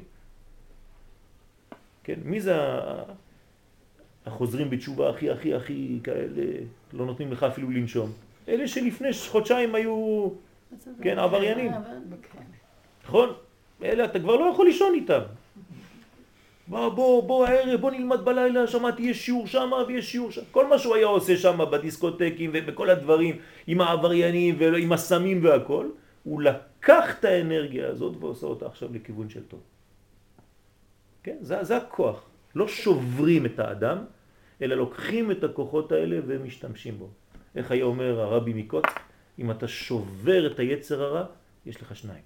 כן, מי זה החוזרים בתשובה הכי כאלה, לא נותנים לך אפילו לנשום? אלה שלפני חודשיים היו, כן, עבריינים. נכון? אלה אתה כבר לא יכול לישון איתם. בוא הערב, בוא נלמד בלילה, שמעתי יש שיעור שם ויש שיעור שם. כל מה שהוא היה עושה שם בדיסקוטקים ובכל הדברים, עם העבריינים ועם הסמים והכל, הוא לקח את האנרגיה הזאת ועושה אותה עכשיו לכיוון של טוב. כן? זה הכוח. לא שוברים את האדם, אלא לוקחים את הכוחות האלה ומשתמשים בו. איך היה אומר הרבי מקוץ? אם אתה שובר את היצר הרע, יש לך שניים.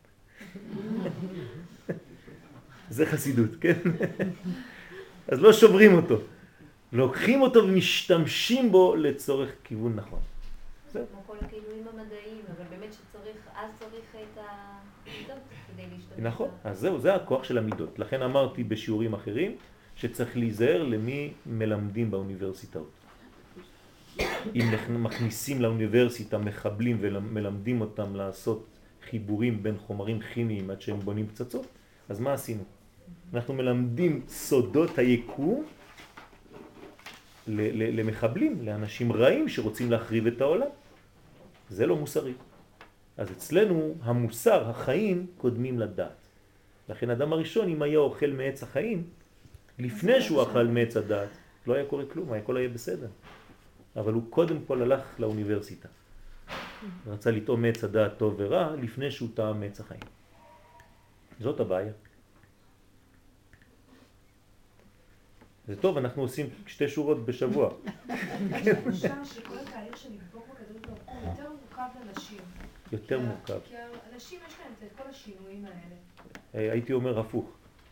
זה חסידות, כן? אז לא שוברים אותו. לוקחים אותו ומשתמשים בו לצורך כיוון נכון. כמו כל הכיוונים המדעיים, אבל באמת שצריך, אז צריך את המידות כדי להשתמש. נכון, אז זהו, זה הכוח של המידות. לכן אמרתי בשיעורים אחרים שצריך להיזהר למי מלמדים באוניברסיטאות. אם מכניסים לאוניברסיטה מחבלים ומלמדים אותם לעשות חיבורים בין חומרים כימיים עד שהם בונים פצצות, אז מה עשינו? אנחנו מלמדים סודות היקום למחבלים, לאנשים רעים שרוצים להחריב את העולם. זה לא מוסרי. אז אצלנו המוסר, החיים, קודמים לדעת. לכן אדם הראשון, אם היה אוכל מעץ החיים, לפני שהוא אכל מעץ הדעת, לא היה קורה כלום, הכל היה בסדר. אבל הוא קודם כל הלך לאוניברסיטה. רצה לטעום מעץ הדעת טוב ורע, לפני שהוא טעם מעץ החיים. זאת הבעיה. זה טוב, אנחנו עושים 2 שורות בשבוע. יש תחושה שכל התהליך של לדבוק בקדוש ברוך הוא יותר מורכב לנשים. יותר מורכב. כי הנשים יש להם את כל השינויים האלה. הייתי אומר הפוך.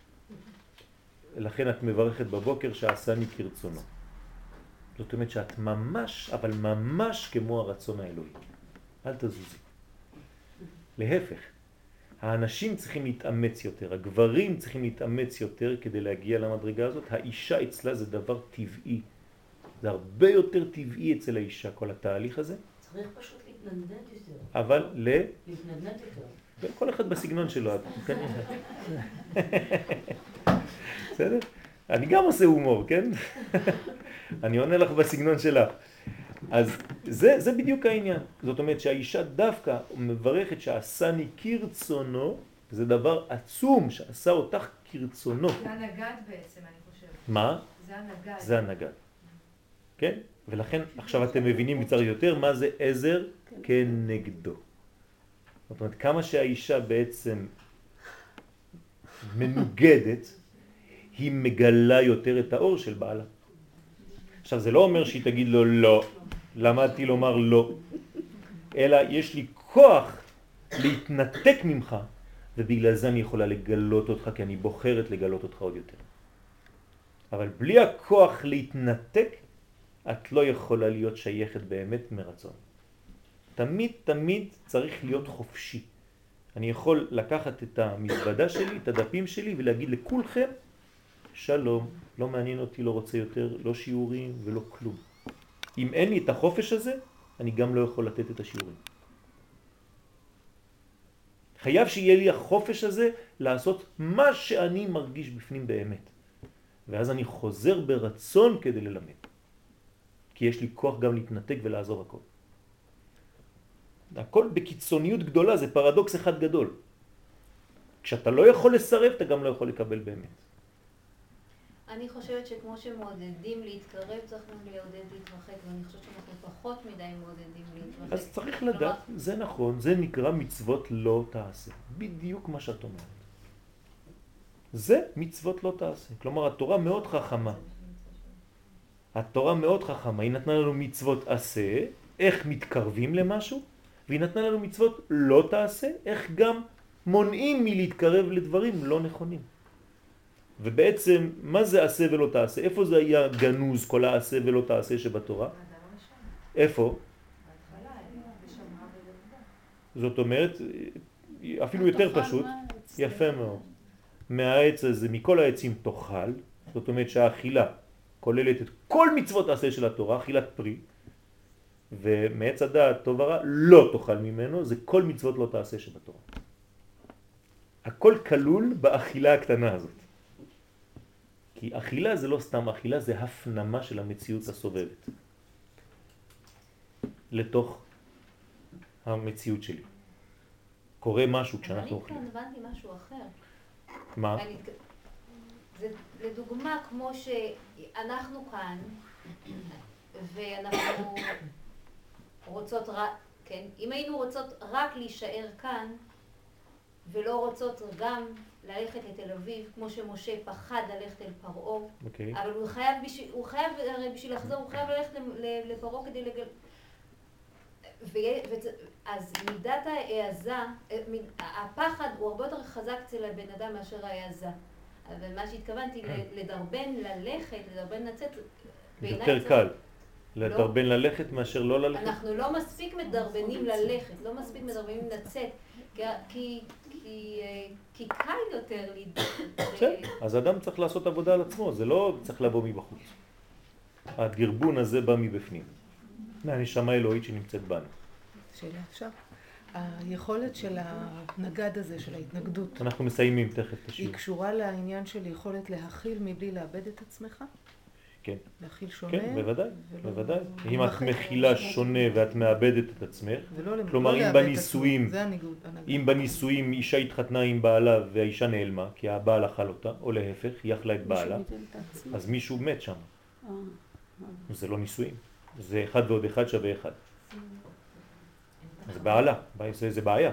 לכן את מברכת בבוקר שעשני כרצונו. זאת אומרת שאת ממש, אבל ממש כמו הרצון האלוהי. אל תזוזי. להפך. האנשים צריכים להתאמץ יותר, הגברים צריכים להתאמץ יותר כדי להגיע למדרגה הזאת. האישה אצלה זה דבר טבעי. זה הרבה יותר טבעי אצל האישה, כל התהליך הזה. צריך פשוט להתנדנד יותר. אבל להתנדנד יותר. כל אחד בסגנון שלו. בסדר? אני גם עושה הומור, כן? אני עונה לך בסגנון שלך. אז זה בדיוק העניין. זאת אומרת שהאישה דווקא מברכת שעשני כרצונו, זה דבר עצום שעשה אותך כרצונו. זה הנגד בעצם, אני חושבת. מה? זה הנגד. זה הנגד. כן? ולכן עכשיו אתם מבינים קצת יותר מה זה עזר כנגדו. זאת אומרת, כמה שהאישה בעצם מנוגדת, היא מגלה יותר את האור של בעלה. עכשיו זה לא אומר שהיא תגיד לו לא, למדתי לומר לא, אלא יש לי כוח להתנתק ממך, ובגלל זה אני יכולה לגלות אותך, כי אני בוחרת לגלות אותך עוד יותר. אבל בלי הכוח להתנתק, את לא יכולה להיות שייכת באמת מרצון. תמיד צריך להיות חופשי. אני יכול לקחת את המזוודה שלי, את הדפים שלי, ולהגיד לכולכם, שלום, לא מעניין אותי, לא רוצה יותר, לא שיעורים ולא כלום. אם אין לי את החופש הזה, אני גם לא יכול לתת את השיעורים. חייב שיהיה לי החופש הזה לעשות מה שאני מרגיש בפנים באמת. ואז אני חוזר ברצון כדי ללמד. כי יש לי כוח גם להתנתק ולעזוב הכל. הכל בקיצוניות גדולה, זה פרדוקס אחד גדול. כשאתה לא יכול לסרב, אתה גם לא יכול לקבל באמת. אני חושבת שכמו שמעודדים להתקרב, צריך גם לעודד להתרחק, ואני חושבת שאנחנו פחות מדי מעודדים להתרחק. אז צריך לדעת, זה נכון, זה נקרא מצוות לא תעשה. בדיוק מה שאת אומרת. זה מצוות לא תעשה. כלומר, התורה מאוד חכמה. התורה מאוד חכמה. היא נתנה לנו מצוות עשה, איך מתקרבים למשהו, והיא נתנה לנו מצוות לא תעשה, איך גם מונעים מלהתקרב לדברים לא נכונים. ובעצם, מה זה עשה ולא תעשה? איפה זה היה גנוז, כל העשה ולא תעשה שבתורה? איפה? זאת אומרת, אפילו יותר פשוט, יפה מאוד. מהעץ הזה, מכל העצים תאכל, זאת אומרת שהאכילה כוללת את כל מצוות עשה של התורה, אכילת פרי, ומעץ הדעת טוב ורע לא תאכל ממנו, זה כל מצוות לא תעשה שבתורה. הכל כלול באכילה הקטנה הזאת. כי אכילה זה לא סתם אכילה, זה הפנמה של המציאות הסובבת. לתוך המציאות שלי. קורה משהו כשאנחנו אוכלים. אבל אני כאן הבנתי משהו אחר. מה? זה לדוגמה כמו שאנחנו כאן, ואנחנו רוצות רק, כן, אם היינו רוצות רק להישאר כאן, ולא רוצות גם ללכת לתל אביב, כמו שמשה פחד ללכת אל פרעה, אבל הוא חייב, הרי בשביל לחזור, הוא חייב ללכת לפרעה כדי אז מידת ההעזה, הפחד הוא הרבה יותר חזק אצל הבן אדם מאשר ההעזה. אבל מה שהתכוונתי, לדרבן ללכת, לדרבן לצאת, יותר קל. לדרבן ללכת מאשר לא ללכת? אנחנו לא מספיק מדרבנים ללכת, לא מספיק מדרבנים לצאת, כי קל יותר אז אדם צריך לעשות עבודה על עצמו, זה לא צריך לבוא מבחוץ. הגרבון הזה בא מבפנים. מהנשמה האלוהית שנמצאת בנו. שאלה אפשר? היכולת של הנגד הזה, של ההתנגדות, אנחנו מסיימים תכף את השיעור. היא קשורה לעניין של יכולת להכיל מבלי לאבד את עצמך? כן. להכיל שונה? כן, בוודאי, בוודאי. אם את מכילה שונה ואת מאבדת את עצמך, כלומר אם בנישואים אישה התחתנה עם בעלה והאישה נעלמה, כי הבעל אכל אותה, או להפך, היא אכלה את בעלה, אז מישהו מת שם. זה לא נישואים. זה 1 ועוד 1 שווה 1. זה בעלה, זה בעיה.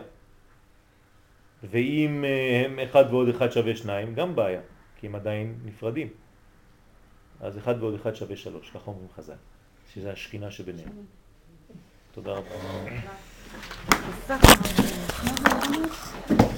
ואם הם 1 ועוד 1 שווה 2, גם בעיה, כי הם עדיין נפרדים. אז 1 ועוד 1 שווה 3, ככה אומרים חז"ל, שזה השכינה שביניהם. תודה רבה.